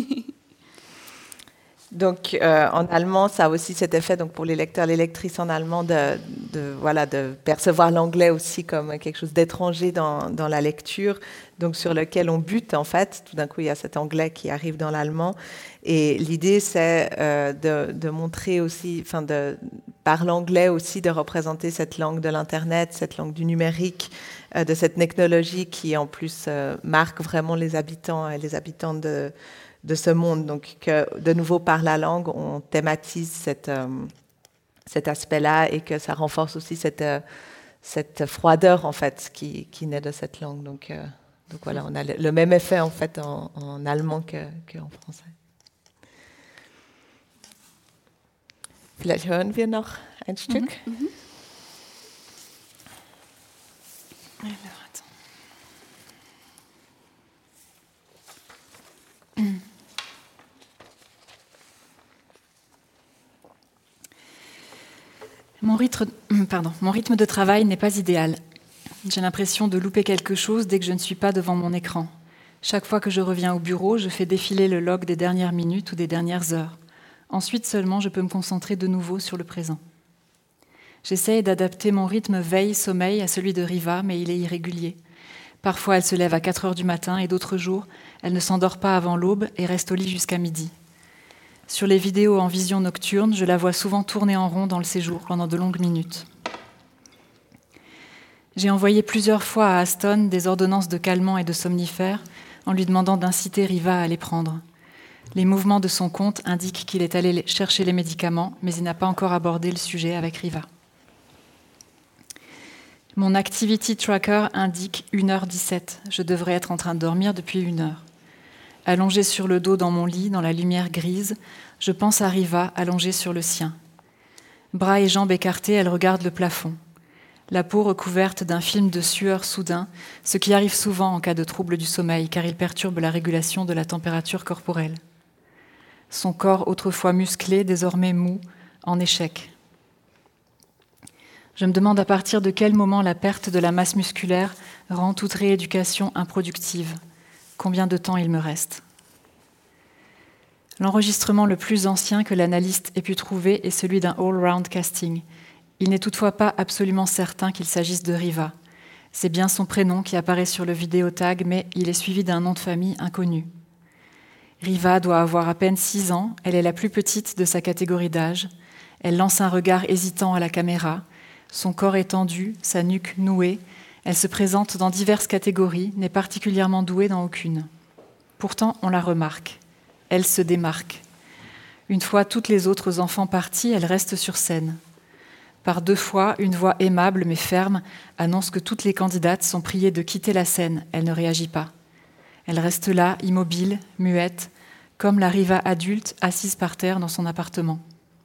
Speaker 3: Donc, euh, en allemand, ça a aussi cet effet, donc pour les lecteurs, les lectrices en allemand, de, de, voilà, de percevoir l'anglais aussi comme quelque chose d'étranger dans, dans la lecture, donc sur lequel on bute en fait. Tout d'un coup, il y a cet anglais qui arrive dans l'allemand. Et l'idée, c'est euh, de, de montrer aussi, enfin, de, par l'anglais aussi, de représenter cette langue de l'Internet, cette langue du numérique, euh, de cette technologie qui, en plus, euh, marque vraiment les habitants et les habitantes de de ce monde. Donc, que, de nouveau, par la langue, on thématise cette, euh, cet aspect-là et que ça renforce aussi cette, euh, cette froideur en fait qui, qui naît de cette langue. Donc, euh, donc voilà, on a le, le même effet en fait en, en allemand qu'en français. Vielleicht hören wir noch ein Stück.
Speaker 4: Mhm. Mhm. Alors, attends. Mhm. Mon rythme, pardon, mon rythme de travail n'est pas idéal. J'ai l'impression de louper quelque chose dès que je ne suis pas devant mon écran. Chaque fois que je reviens au bureau, je fais défiler le log des dernières minutes ou des dernières heures. Ensuite seulement, je peux me concentrer de nouveau sur le présent. J'essaye d'adapter mon rythme veille-sommeil à celui de Riva, mais il est irrégulier. Parfois, elle se lève à quatre heures du matin et d'autres jours, elle ne s'endort pas avant l'aube et reste au lit jusqu'à midi. Sur les vidéos en vision nocturne, je la vois souvent tourner en rond dans le séjour pendant de longues minutes. J'ai envoyé plusieurs fois à Aston des ordonnances de calmants et de somnifères en lui demandant d'inciter Riva à les prendre. Les mouvements de son compte indiquent qu'il est allé chercher les médicaments, mais il n'a pas encore abordé le sujet avec Riva. Mon activity tracker indique une heure dix-sept. Je devrais être en train de dormir depuis une heure. Allongée sur le dos dans mon lit, dans la lumière grise, je pense à Riva allongée sur le sien. Bras et jambes écartés, elle regarde le plafond. La peau recouverte d'un film de sueur soudain, ce qui arrive souvent en cas de trouble du sommeil, car il perturbe la régulation de la température corporelle. Son corps, autrefois musclé, désormais mou, en échec. Je me demande à partir de quel moment la perte de la masse musculaire rend toute rééducation improductive. Combien de temps il me reste ? L'enregistrement le plus ancien que l'analyste ait pu trouver est celui d'un all-round casting. Il n'est toutefois pas absolument certain qu'il s'agisse de Riva. C'est bien son prénom qui apparaît sur le vidéotag, mais il est suivi d'un nom de famille inconnu. Riva doit avoir à peine six ans, elle est la plus petite de sa catégorie d'âge. Elle lance un regard hésitant à la caméra, son corps est tendu, sa nuque nouée. Elle se présente dans diverses catégories, n'est particulièrement douée dans aucune. Pourtant, on la remarque. Elle se démarque. Une fois toutes les autres enfants partis, elle reste sur scène. Par deux fois, une voix aimable mais ferme annonce que toutes les candidates sont priées de quitter la scène. Elle ne réagit pas. Elle reste là, immobile, muette, comme la Riva adulte assise par terre dans son appartement.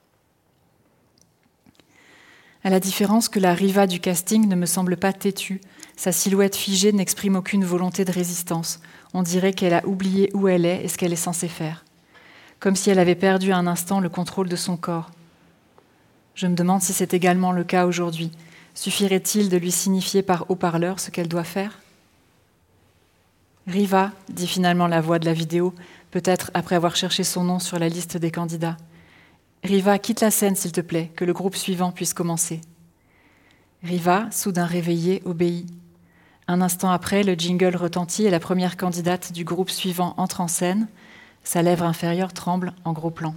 Speaker 4: À la différence que la Riva du casting ne me semble pas têtue, sa silhouette figée n'exprime aucune volonté de résistance. On dirait qu'elle a oublié où elle est et ce qu'elle est censée faire. Comme si elle avait perdu un instant le contrôle de son corps. Je me demande si c'est également le cas aujourd'hui. Suffirait-il de lui signifier par haut-parleur ce qu'elle doit faire ? Riva, dit finalement la voix de la vidéo, peut-être après avoir cherché son nom sur la liste des candidats. Riva, quitte la scène, s'il te plaît, que le groupe suivant puisse commencer. Riva, soudain réveillée, obéit. Un instant après, le jingle retentit et la première candidate du groupe suivant entre en scène. Sa lèvre inférieure tremble en gros plan.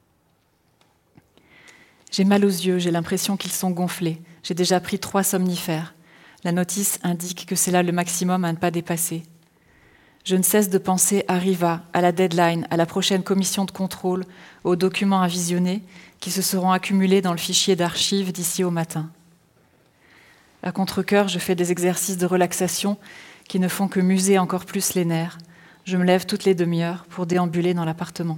Speaker 4: J'ai mal aux yeux, j'ai l'impression qu'ils sont gonflés. J'ai déjà pris trois somnifères. La notice indique que c'est là le maximum à ne pas dépasser. Je ne cesse de penser à Riva, à la deadline, à la prochaine commission de contrôle, aux documents à visionner qui se seront accumulés dans le fichier d'archives d'ici au matin. À contre-cœur, je fais des exercices de relaxation qui ne font que muser encore plus les nerfs. Je me lève toutes les demi-heures pour déambuler dans l'appartement.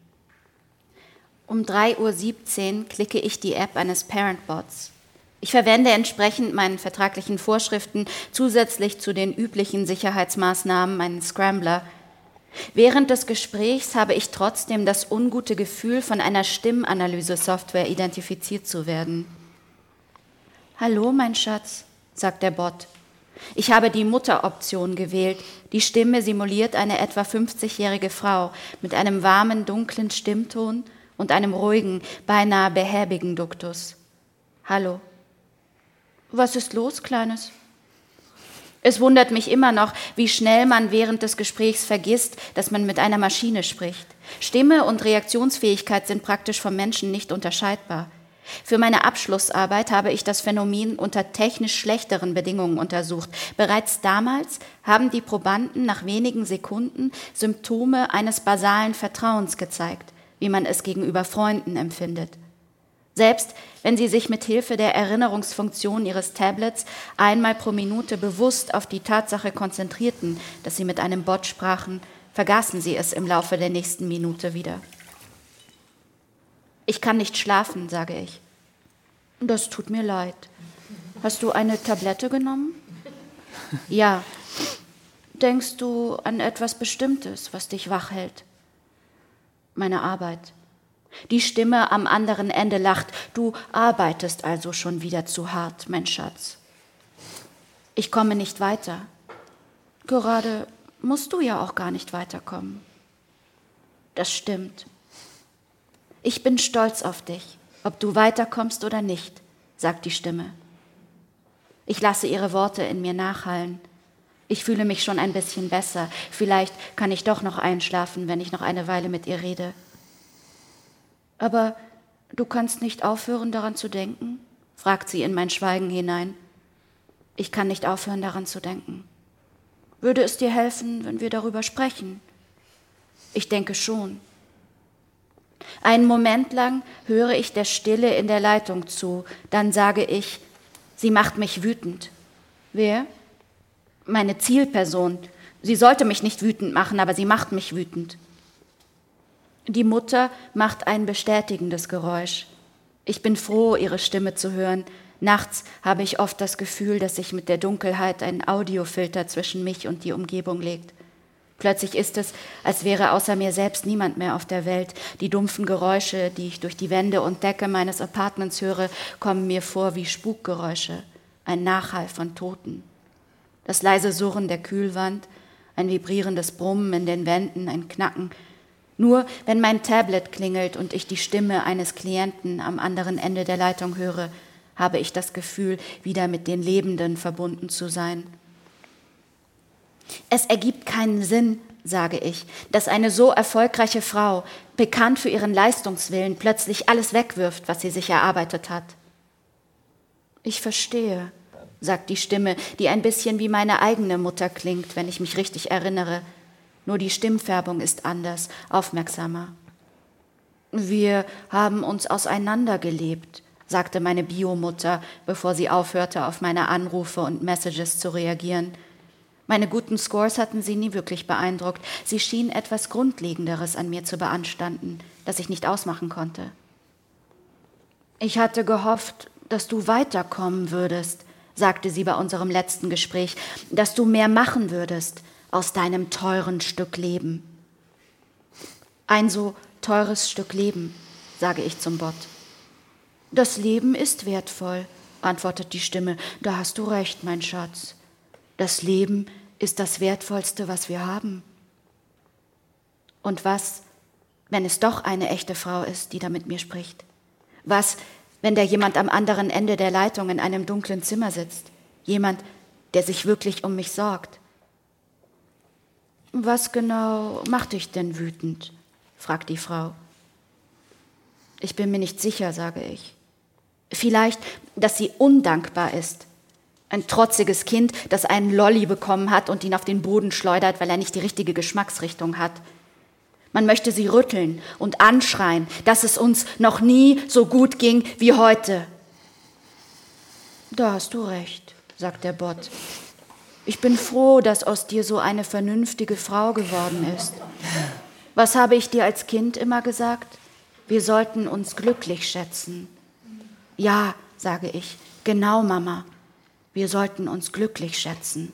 Speaker 5: Um drei Uhr siebzehn klicke ich die App eines Parent-Bots. Ich verwende entsprechend meinen vertraglichen Vorschriften zusätzlich zu den üblichen Sicherheitsmaßnahmen einen Scrambler. Während des Gesprächs habe ich trotzdem das ungute Gefühl, von einer Stimmanalyse-Software identifiziert zu werden. »Hallo, mein Schatz«, sagt der Bot. Ich habe die Mutteroption gewählt. Die Stimme simuliert eine etwa fünfzigjährige Frau mit einem warmen, dunklen Stimmton und einem ruhigen, beinahe behäbigen Duktus. »Hallo.« »Was ist los, Kleines?« Es wundert mich immer noch, wie schnell man während des Gesprächs vergisst, dass man mit einer Maschine spricht. Stimme und Reaktionsfähigkeit sind praktisch vom Menschen nicht unterscheidbar. Für meine Abschlussarbeit habe ich das Phänomen unter technisch schlechteren Bedingungen untersucht. Bereits damals haben die Probanden nach wenigen Sekunden Symptome eines basalen Vertrauens gezeigt, wie man es gegenüber Freunden empfindet. Selbst wenn Sie sich mit Hilfe der Erinnerungsfunktion Ihres Tablets einmal pro Minute bewusst auf die Tatsache konzentrierten, dass Sie mit einem Bot sprachen, vergaßen Sie es im Laufe der nächsten Minute wieder. Ich kann nicht schlafen, sage ich. Das tut mir leid. Hast du eine Tablette genommen? Ja. Denkst du an etwas Bestimmtes, was dich wach hält? Meine Arbeit. Die Stimme am anderen Ende lacht. Du arbeitest also schon wieder zu hart, mein Schatz. Ich komme nicht weiter. Gerade musst du ja auch gar nicht weiterkommen. Das stimmt. Ich bin stolz auf dich, ob du weiterkommst oder nicht, sagt die Stimme. Ich lasse ihre Worte in mir nachhallen. Ich fühle mich schon ein bisschen besser. Vielleicht kann ich doch noch einschlafen, wenn ich noch eine Weile mit ihr rede. Aber du kannst nicht aufhören, daran zu denken? Fragt sie in mein Schweigen hinein. Ich kann nicht aufhören, daran zu denken. Würde es dir helfen, wenn wir darüber sprechen? Ich denke schon. Einen Moment lang höre ich der Stille in der Leitung zu. Dann sage ich, sie macht mich wütend. Wer? Meine Zielperson. Sie sollte mich nicht wütend machen, aber sie macht mich wütend. Die Mutter macht ein bestätigendes Geräusch. Ich bin froh, ihre Stimme zu hören. Nachts habe ich oft das Gefühl, dass sich mit der Dunkelheit ein Audiofilter zwischen mich und die Umgebung legt. Plötzlich ist es, als wäre außer mir selbst niemand mehr auf der Welt. Die dumpfen Geräusche, die ich durch die Wände und Decke meines Apartments höre, kommen mir vor wie Spukgeräusche, ein Nachhall von Toten. Das leise Surren der Kühlwand, ein vibrierendes Brummen in den Wänden, ein Knacken. Nur wenn mein Tablet klingelt und ich die Stimme eines Klienten am anderen Ende der Leitung höre, habe ich das Gefühl, wieder mit den Lebenden verbunden zu sein. Es ergibt keinen Sinn, sage ich, dass eine so erfolgreiche Frau, bekannt für ihren Leistungswillen, plötzlich alles wegwirft, was sie sich erarbeitet hat. Ich verstehe, sagt die Stimme, die ein bisschen wie meine eigene Mutter klingt, wenn ich mich richtig erinnere. Nur die Stimmfärbung ist anders, aufmerksamer. Wir haben uns auseinandergelebt, sagte meine Biomutter, bevor sie aufhörte, auf meine Anrufe und Messages zu reagieren. Meine guten Scores hatten sie nie wirklich beeindruckt. Sie schien etwas Grundlegenderes an mir zu beanstanden, das ich nicht ausmachen konnte. Ich hatte gehofft, dass du weiterkommen würdest, sagte sie bei unserem letzten Gespräch, dass du mehr machen würdest aus deinem teuren Stück Leben. Ein so teures Stück Leben, sage ich zum Bot. Das Leben ist wertvoll, antwortet die Stimme. Da hast du recht, mein Schatz. Das Leben ist das Wertvollste, was wir haben. Und was, wenn es doch eine echte Frau ist, die da mit mir spricht? Was, wenn da jemand am anderen Ende der Leitung in einem dunklen Zimmer sitzt? Jemand, der sich wirklich um mich sorgt? Was genau macht dich denn wütend? Fragt die Frau. Ich bin mir nicht sicher, sage ich. Vielleicht, dass sie undankbar ist. Ein trotziges Kind, das einen Lolli bekommen hat und ihn auf den Boden schleudert, weil er nicht die richtige Geschmacksrichtung hat. Man möchte sie rütteln und anschreien, dass es uns noch nie so gut ging wie heute. Da hast du recht, sagt der Bot. Ich bin froh, dass aus dir so eine vernünftige Frau geworden ist. Was habe ich dir als Kind immer gesagt? Wir sollten uns glücklich schätzen. Ja, sage ich, genau, Mama. Wir sollten uns glücklich schätzen.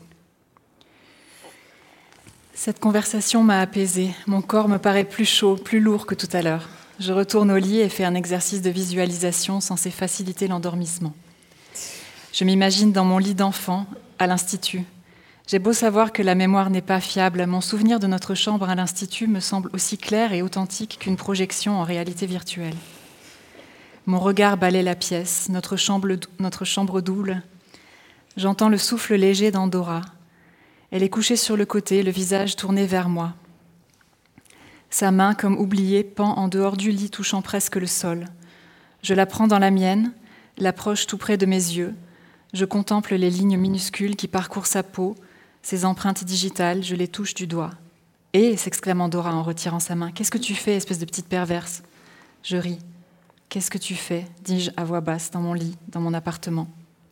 Speaker 4: Cette conversation m'a apaisée. Mon corps me paraît plus chaud, plus lourd que tout à l'heure. Je retourne au lit et fais un exercice de visualisation censé faciliter l'endormissement. Je m'imagine dans mon lit d'enfant, à l'Institut. J'ai beau savoir que la mémoire n'est pas fiable, mon souvenir de notre chambre à l'Institut me semble aussi clair et authentique qu'une projection en réalité virtuelle. Mon regard balaie la pièce, notre chambre, notre chambre double. J'entends le souffle léger d'Andorra. Elle est couchée sur le côté, le visage tourné vers moi. Sa main, comme oubliée, pend en dehors du lit, touchant presque le sol. Je la prends dans la mienne, l'approche tout près de mes yeux. Je contemple les lignes minuscules qui parcourent sa peau, ses empreintes digitales, je les touche du doigt. « Hé !» s'exclame Andorra en retirant sa main. « Qu'est-ce que tu fais, espèce de petite perverse ?» Je ris. Qu'est-ce que tu fais ? dis-je à voix basse dans mon lit, dans mon appartement.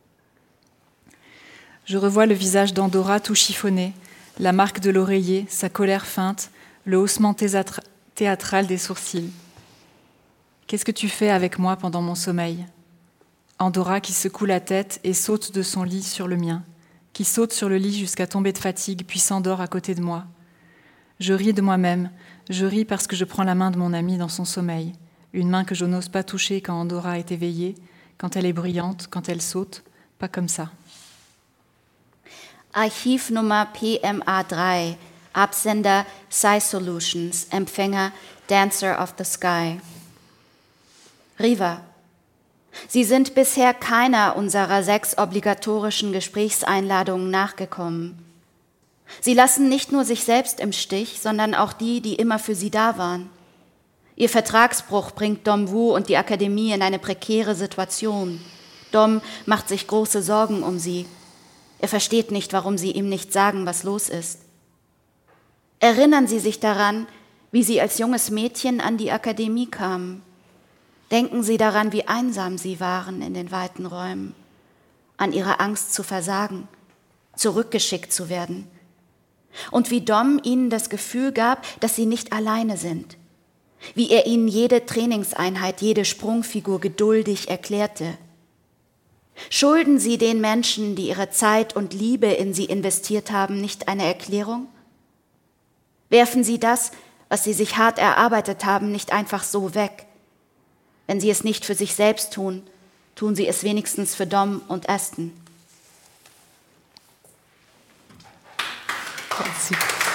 Speaker 4: Je revois le visage d'Andorra tout chiffonné, la marque de l'oreiller, sa colère feinte, le haussement théâtra- théâtral des sourcils. Qu'est-ce que tu fais avec moi pendant mon sommeil ? Andorra qui secoue la tête et saute de son lit sur le mien, qui saute sur le lit jusqu'à tomber de fatigue, puis s'endort à côté de moi. Je ris de moi-même, je ris parce que je prends la main de mon amie dans son sommeil, une main que je n'ose pas toucher quand Andorra est éveillée, quand elle est bruyante, quand elle saute, pas comme ça.
Speaker 5: Archivnummer P M A drei, Absender Sci Solutions, Empfänger Dancer of the Sky. Riva, Sie sind bisher keiner unserer sechs obligatorischen Gesprächseinladungen nachgekommen. Sie lassen nicht nur sich selbst im Stich, sondern auch die, die immer für Sie da waren. Ihr Vertragsbruch bringt Dom Wu und die Akademie in eine prekäre Situation. Dom macht sich große Sorgen um Sie. Er versteht nicht, warum Sie ihm nicht sagen, was los ist. Erinnern Sie sich daran, wie Sie als junges Mädchen an die Akademie kamen. Denken Sie daran, wie einsam Sie waren in den weiten Räumen, an Ihre Angst zu versagen, zurückgeschickt zu werden. Und wie Dom Ihnen das Gefühl gab, dass Sie nicht alleine sind. Wie er Ihnen jede Trainingseinheit, jede Sprungfigur geduldig erklärte. Schulden Sie den Menschen, die ihre Zeit und Liebe in Sie investiert haben, nicht eine Erklärung? Werfen Sie das, was Sie sich hart erarbeitet haben, nicht einfach so weg. Wenn Sie es nicht für sich selbst tun, tun Sie es wenigstens für Dom und Aston.
Speaker 3: Merci.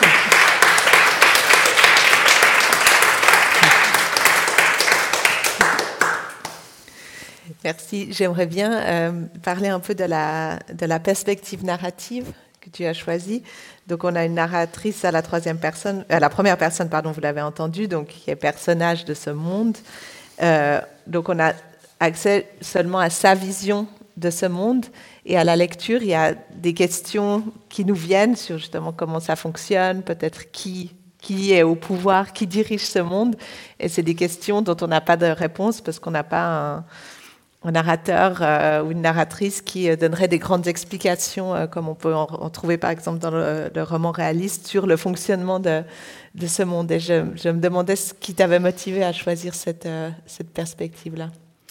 Speaker 3: Merci. J'aimerais bien euh, parler un peu de la, de la perspective narrative que tu as choisie. Donc, on a une narratrice à la troisième personne, à la première personne, pardon, vous l'avez entendu, donc qui est personnage de ce monde. Euh, donc, on a accès seulement à sa vision de ce monde. Et à la lecture, il y a des questions qui nous viennent sur justement comment ça fonctionne, peut-être qui, qui est au pouvoir, qui dirige ce monde. Et c'est des questions dont on n'a pas de réponse parce qu'on n'a pas un, un narrateur euh, ou une narratrice qui euh, donnerait des grandes explications, euh, comme on peut en, en trouver par exemple dans le, le roman réaliste, sur le fonctionnement de, de ce monde. Et je, je me demandais ce qui t'avait motivé à choisir cette, euh, cette perspective-là.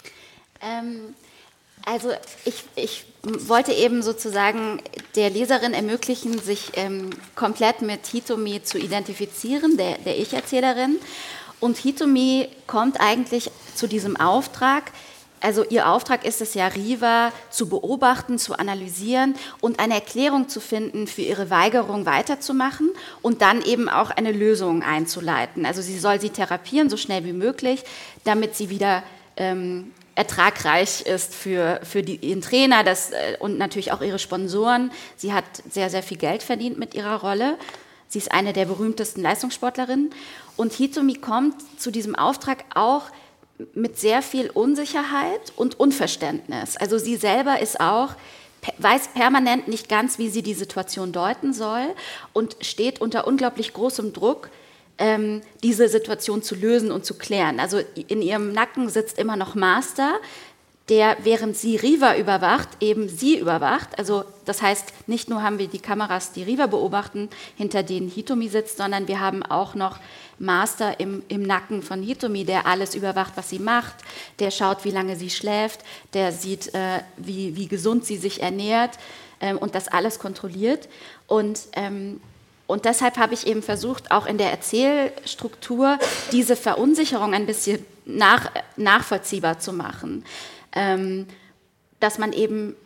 Speaker 5: Ähm, also ich, ich wollte eben sozusagen der Leserin ermöglichen, sich ähm, komplett mit Hitomi zu identifizieren, der, der Ich-Erzählerin. Und Hitomi kommt eigentlich zu diesem Auftrag. Also ihr Auftrag ist es ja, Riva zu beobachten, zu analysieren und eine Erklärung zu finden für ihre Weigerung weiterzumachen und dann eben auch eine Lösung einzuleiten. Also sie soll sie therapieren, so schnell wie möglich, damit sie wieder ähm, ertragreich ist für, für die, ihren Trainer das, äh, und natürlich auch ihre Sponsoren. Sie hat sehr, sehr viel Geld verdient mit ihrer Rolle. Sie ist eine der berühmtesten Leistungssportlerinnen. Und Hitomi kommt zu diesem Auftrag auch mit sehr viel Unsicherheit und Unverständnis. Also sie selber ist auch, weiß permanent nicht ganz, wie sie die Situation deuten soll und steht unter unglaublich großem Druck, ähm, diese Situation zu lösen und zu klären. Also in ihrem Nacken sitzt immer noch Master, der, während sie Riva überwacht, eben sie überwacht. Also das heißt, nicht nur haben wir die Kameras, die Riva beobachten, hinter denen Hitomi sitzt, sondern wir haben auch noch Master im, im Nacken von Hitomi, der alles überwacht, was sie macht, der schaut, wie lange sie schläft, der sieht, äh, wie, wie gesund sie sich ernährt ähm, und das alles kontrolliert. Und, ähm, und deshalb habe ich eben versucht, auch in der Erzählstruktur diese Verunsicherung ein bisschen nach, nachvollziehbar zu machen. Ähm, dass man eben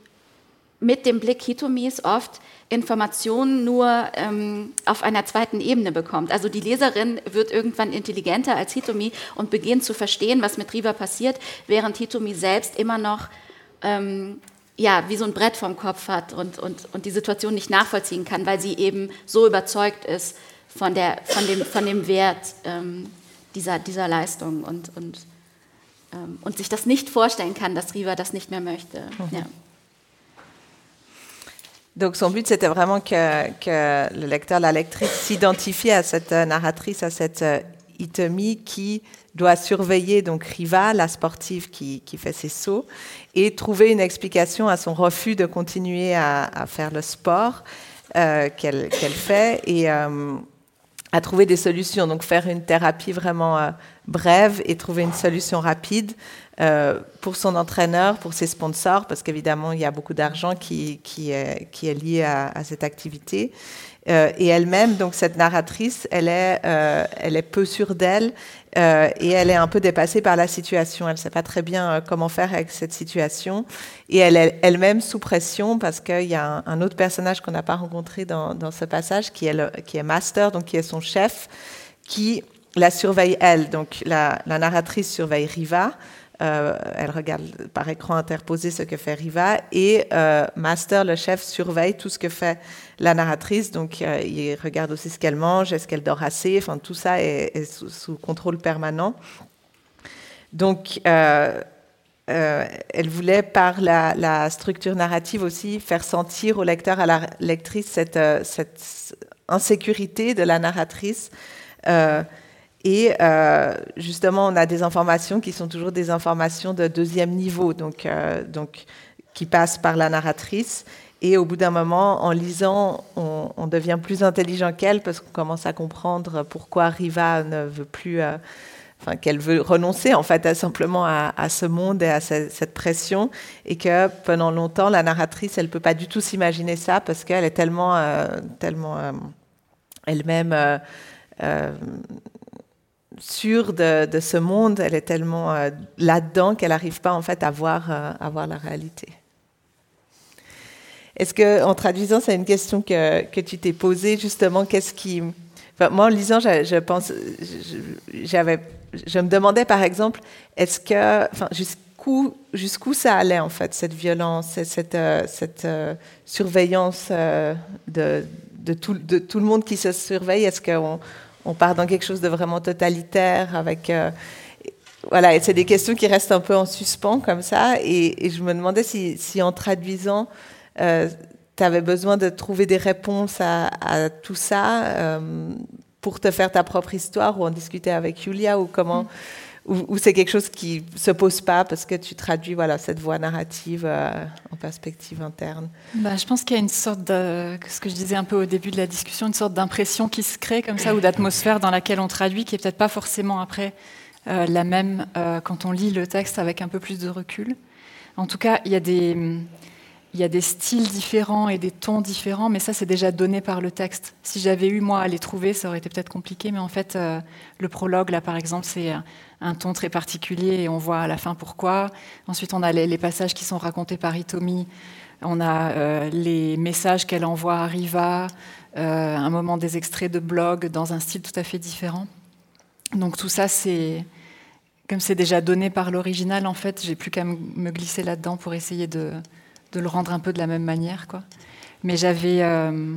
Speaker 5: mit dem Blick Hitomis oft Informationen nur ähm, auf einer zweiten Ebene bekommt. Also die Leserin wird irgendwann intelligenter als Hitomi und beginnt zu verstehen, was mit Riva passiert, während Hitomi selbst immer noch ähm, ja, wie so ein Brett vorm Kopf hat und, und, und die Situation nicht nachvollziehen kann, weil sie eben so überzeugt ist von, der, von, dem, von dem Wert ähm, dieser, dieser Leistung und, und, ähm, und sich das nicht vorstellen kann, dass Riva das nicht mehr möchte. Mhm. Ja.
Speaker 3: Donc son but, c'était vraiment que, que le lecteur, la lectrice s'identifie à cette narratrice, à cette Itomi qui doit surveiller donc Riva, la sportive qui, qui fait ses sauts, et trouver une explication à son refus de continuer à, à faire le sport euh, qu'elle, qu'elle fait et euh, à trouver des solutions. Donc faire une thérapie vraiment euh, brève et trouver une solution rapide euh, pour son entraîneur, pour ses sponsors, parce qu'évidemment il y a beaucoup d'argent qui, qui, est, qui est lié à, à cette activité. Euh, et elle-même, donc cette narratrice, elle est, euh, elle est peu sûre d'elle euh, et elle est un peu dépassée par la situation. Elle ne sait pas très bien euh, comment faire avec cette situation. Et elle est elle-même sous pression parce qu'il y a un, un autre personnage qu'on n'a pas rencontré dans, dans ce passage qui est, le, qui est Master, donc qui est son chef, qui la surveille elle. Donc la, la narratrice surveille Riva. Euh, elle regarde par écran interposé ce que fait Riva et euh, Master, le chef, surveille tout ce que fait la narratrice. Donc, euh, il regarde aussi ce qu'elle mange, est-ce qu'elle dort assez. Enfin, tout ça est, est sous, sous contrôle permanent. Donc, euh, euh, elle voulait, par la, la structure narrative aussi, faire sentir au lecteur, à la lectrice, cette, euh, cette insécurité de la narratrice. Euh, Et euh, justement, on a des informations qui sont toujours des informations de deuxième niveau, donc, euh, donc qui passent par la narratrice. Et au bout d'un moment, en lisant, on, on devient plus intelligent qu'elle parce qu'on commence à comprendre pourquoi Riva ne veut plus, euh, enfin qu'elle veut renoncer en fait à, simplement à, à ce monde et à ce, cette pression, et que pendant longtemps, la narratrice, elle peut pas du tout s'imaginer ça parce qu'elle est tellement, euh, tellement euh, elle-même. Euh, euh, sûre de, de ce monde, elle est tellement euh, là-dedans qu'elle n'arrive pas en fait à voir, euh, à voir la réalité. Est-ce que, en traduisant, c'est une question que, que tu t'es posée justement, qu'est-ce qui... Enfin, moi, en lisant, je, je pense, je, j'avais, je me demandais par exemple, est-ce que, enfin, jusqu'où, jusqu'où ça allait en fait, cette violence, cette, euh, cette euh, surveillance euh, de, de, tout, de tout le monde qui se surveille, est-ce qu'on on part dans quelque chose de vraiment totalitaire avec euh, voilà, et c'est des questions qui restent un peu en suspens comme ça, et, et je me demandais si, si en traduisant euh, tu avais besoin de trouver des réponses à, à tout ça euh, pour te faire ta propre histoire, ou en discuter avec Julia, ou comment, mm. ou, ou c'est quelque chose qui se pose pas parce que tu traduis voilà cette voix narrative euh, en perspective interne.
Speaker 4: Bah, je pense qu'il y a une sorte de, ce que je disais un peu au début de la discussion, une sorte d'impression qui se crée comme ça, ou d'atmosphère dans laquelle on traduit, qui est peut-être pas forcément après euh, la même euh, quand on lit le texte avec un peu plus de recul. En tout cas, il y a des, il y a des styles différents et des tons différents, mais ça, c'est déjà donné par le texte. Si j'avais eu, moi, à les trouver, ça aurait été peut-être compliqué, mais en fait, euh, le prologue, là, par exemple, c'est un ton très particulier et on voit à la fin pourquoi. Ensuite, on a les, les passages qui sont racontés par Hitomi. On a euh, les messages qu'elle envoie à Riva, euh, un moment des extraits de blog dans un style tout à fait différent. Donc tout ça, c'est... Comme c'est déjà donné par l'original, en fait, j'ai plus qu'à me glisser là-dedans pour essayer de, de le rendre un peu de la même manière, quoi. Mais j'avais... Euh,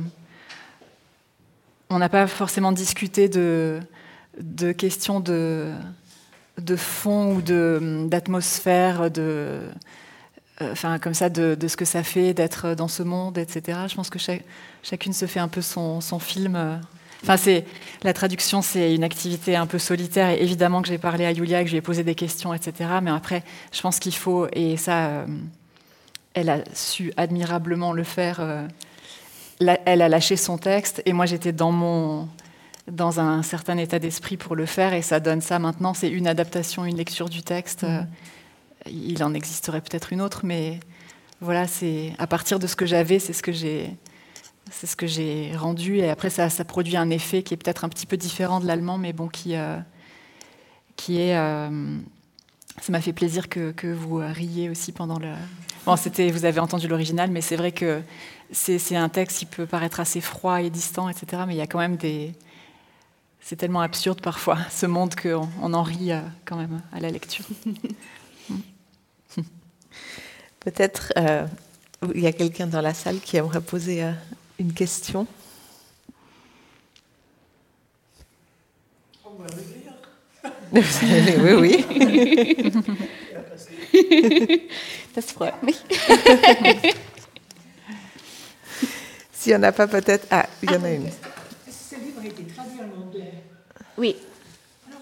Speaker 4: on n'a pas forcément discuté de, de questions de, de fond ou de, d'atmosphère, de, euh, enfin, comme ça, de, de ce que ça fait d'être dans ce monde, et cetera. Je pense que chaque, chacune se fait un peu son, son film... Euh, Enfin, c'est, la traduction, c'est une activité un peu solitaire. Et évidemment que j'ai parlé à Julia, que je lui ai posé des questions, et cetera. Mais après, je pense qu'il faut, et ça, euh, elle a su admirablement le faire. Euh, la, elle a lâché son texte, et moi, j'étais dans mon, dans un certain état d'esprit pour le faire, et ça donne ça maintenant. C'est une adaptation, une lecture du texte. Mmh. Il en existerait peut-être une autre, mais voilà, c'est à partir de ce que j'avais, c'est ce que j'ai. C'est ce que j'ai rendu, et après ça, ça produit un effet qui est peut-être un petit peu différent de l'allemand, mais bon, qui, euh, qui est... Euh, ça m'a fait plaisir que, que vous riez aussi pendant le... Bon, c'était, vous avez entendu l'original, mais c'est vrai que c'est, c'est un texte qui peut paraître assez froid et distant, et cetera, mais il y a quand même des... C'est tellement absurde parfois, ce monde, qu'on on en rit euh, quand même à la lecture.
Speaker 3: Peut-être euh, il y a quelqu'un dans la salle qui aimerait poser... Euh, une question.
Speaker 6: On va le
Speaker 3: lire. Oui, oui.
Speaker 5: Das freut mich.
Speaker 3: S'il n'y en a pas, peut-être... Ah, il y en a une.
Speaker 6: Ce livre a été traduit en anglais.
Speaker 5: Oui.
Speaker 6: Alors,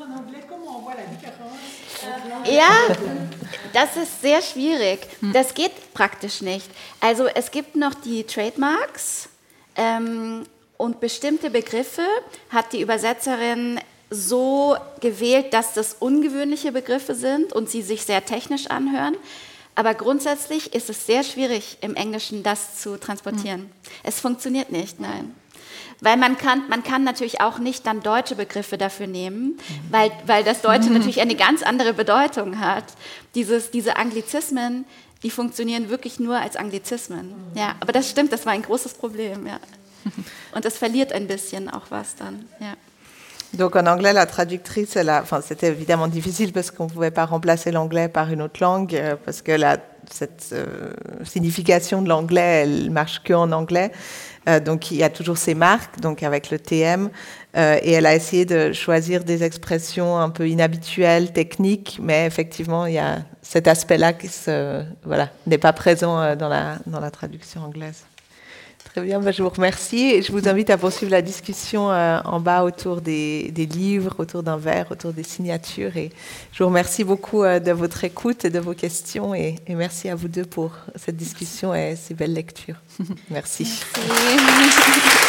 Speaker 5: Ja, das ist sehr schwierig. Das geht praktisch nicht. Also es gibt noch die Trademarks ähm, und bestimmte Begriffe hat die Übersetzerin so gewählt, dass das ungewöhnliche Begriffe sind und sie sich sehr technisch anhören. Aber grundsätzlich ist es sehr schwierig, im Englischen das zu transportieren. Mhm. Es funktioniert nicht, nein. Weil man kann, man kann natürlich auch nicht dann deutsche Begriffe dafür nehmen, weil, weil das Deutsche mhm. natürlich eine ganz andere Bedeutung hat. Dieses, diese Anglizismen, die funktionieren wirklich nur als Anglizismen. Ja, aber das stimmt, das war ein großes Problem. Ja. Und es verliert ein bisschen auch was dann. Ja.
Speaker 3: Donc en anglais, la traductrice, elle a, enfin, c'était évidemment difficile parce qu'on ne pouvait pas remplacer l'anglais par une autre langue, euh, parce que la, cette euh, signification de l'anglais, elle marche que en anglais. Euh, donc il y a toujours ces marques, donc avec le T M, euh, et elle a essayé de choisir des expressions un peu inhabituelles, techniques, mais effectivement il y a cet aspect-là qui se, voilà, n'est pas présent dans la, dans la traduction anglaise. Très bien, ben je vous remercie et je vous invite à poursuivre la discussion euh, en bas autour des, des livres, autour d'un verre, autour des signatures. Et je vous remercie beaucoup euh, de votre écoute et de vos questions et, et merci à vous deux pour cette discussion et ces belles lectures. Merci. Merci.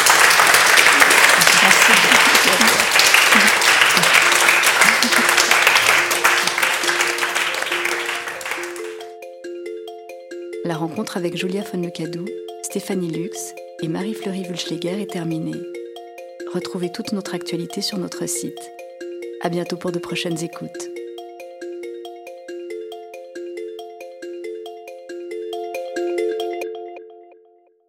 Speaker 2: La rencontre avec Julia von Lecadou, Stéphanie Lux et Marie-Fleury Wulschläger est terminée. Retrouvez toute notre actualité sur notre site. À bientôt pour de prochaines écoutes.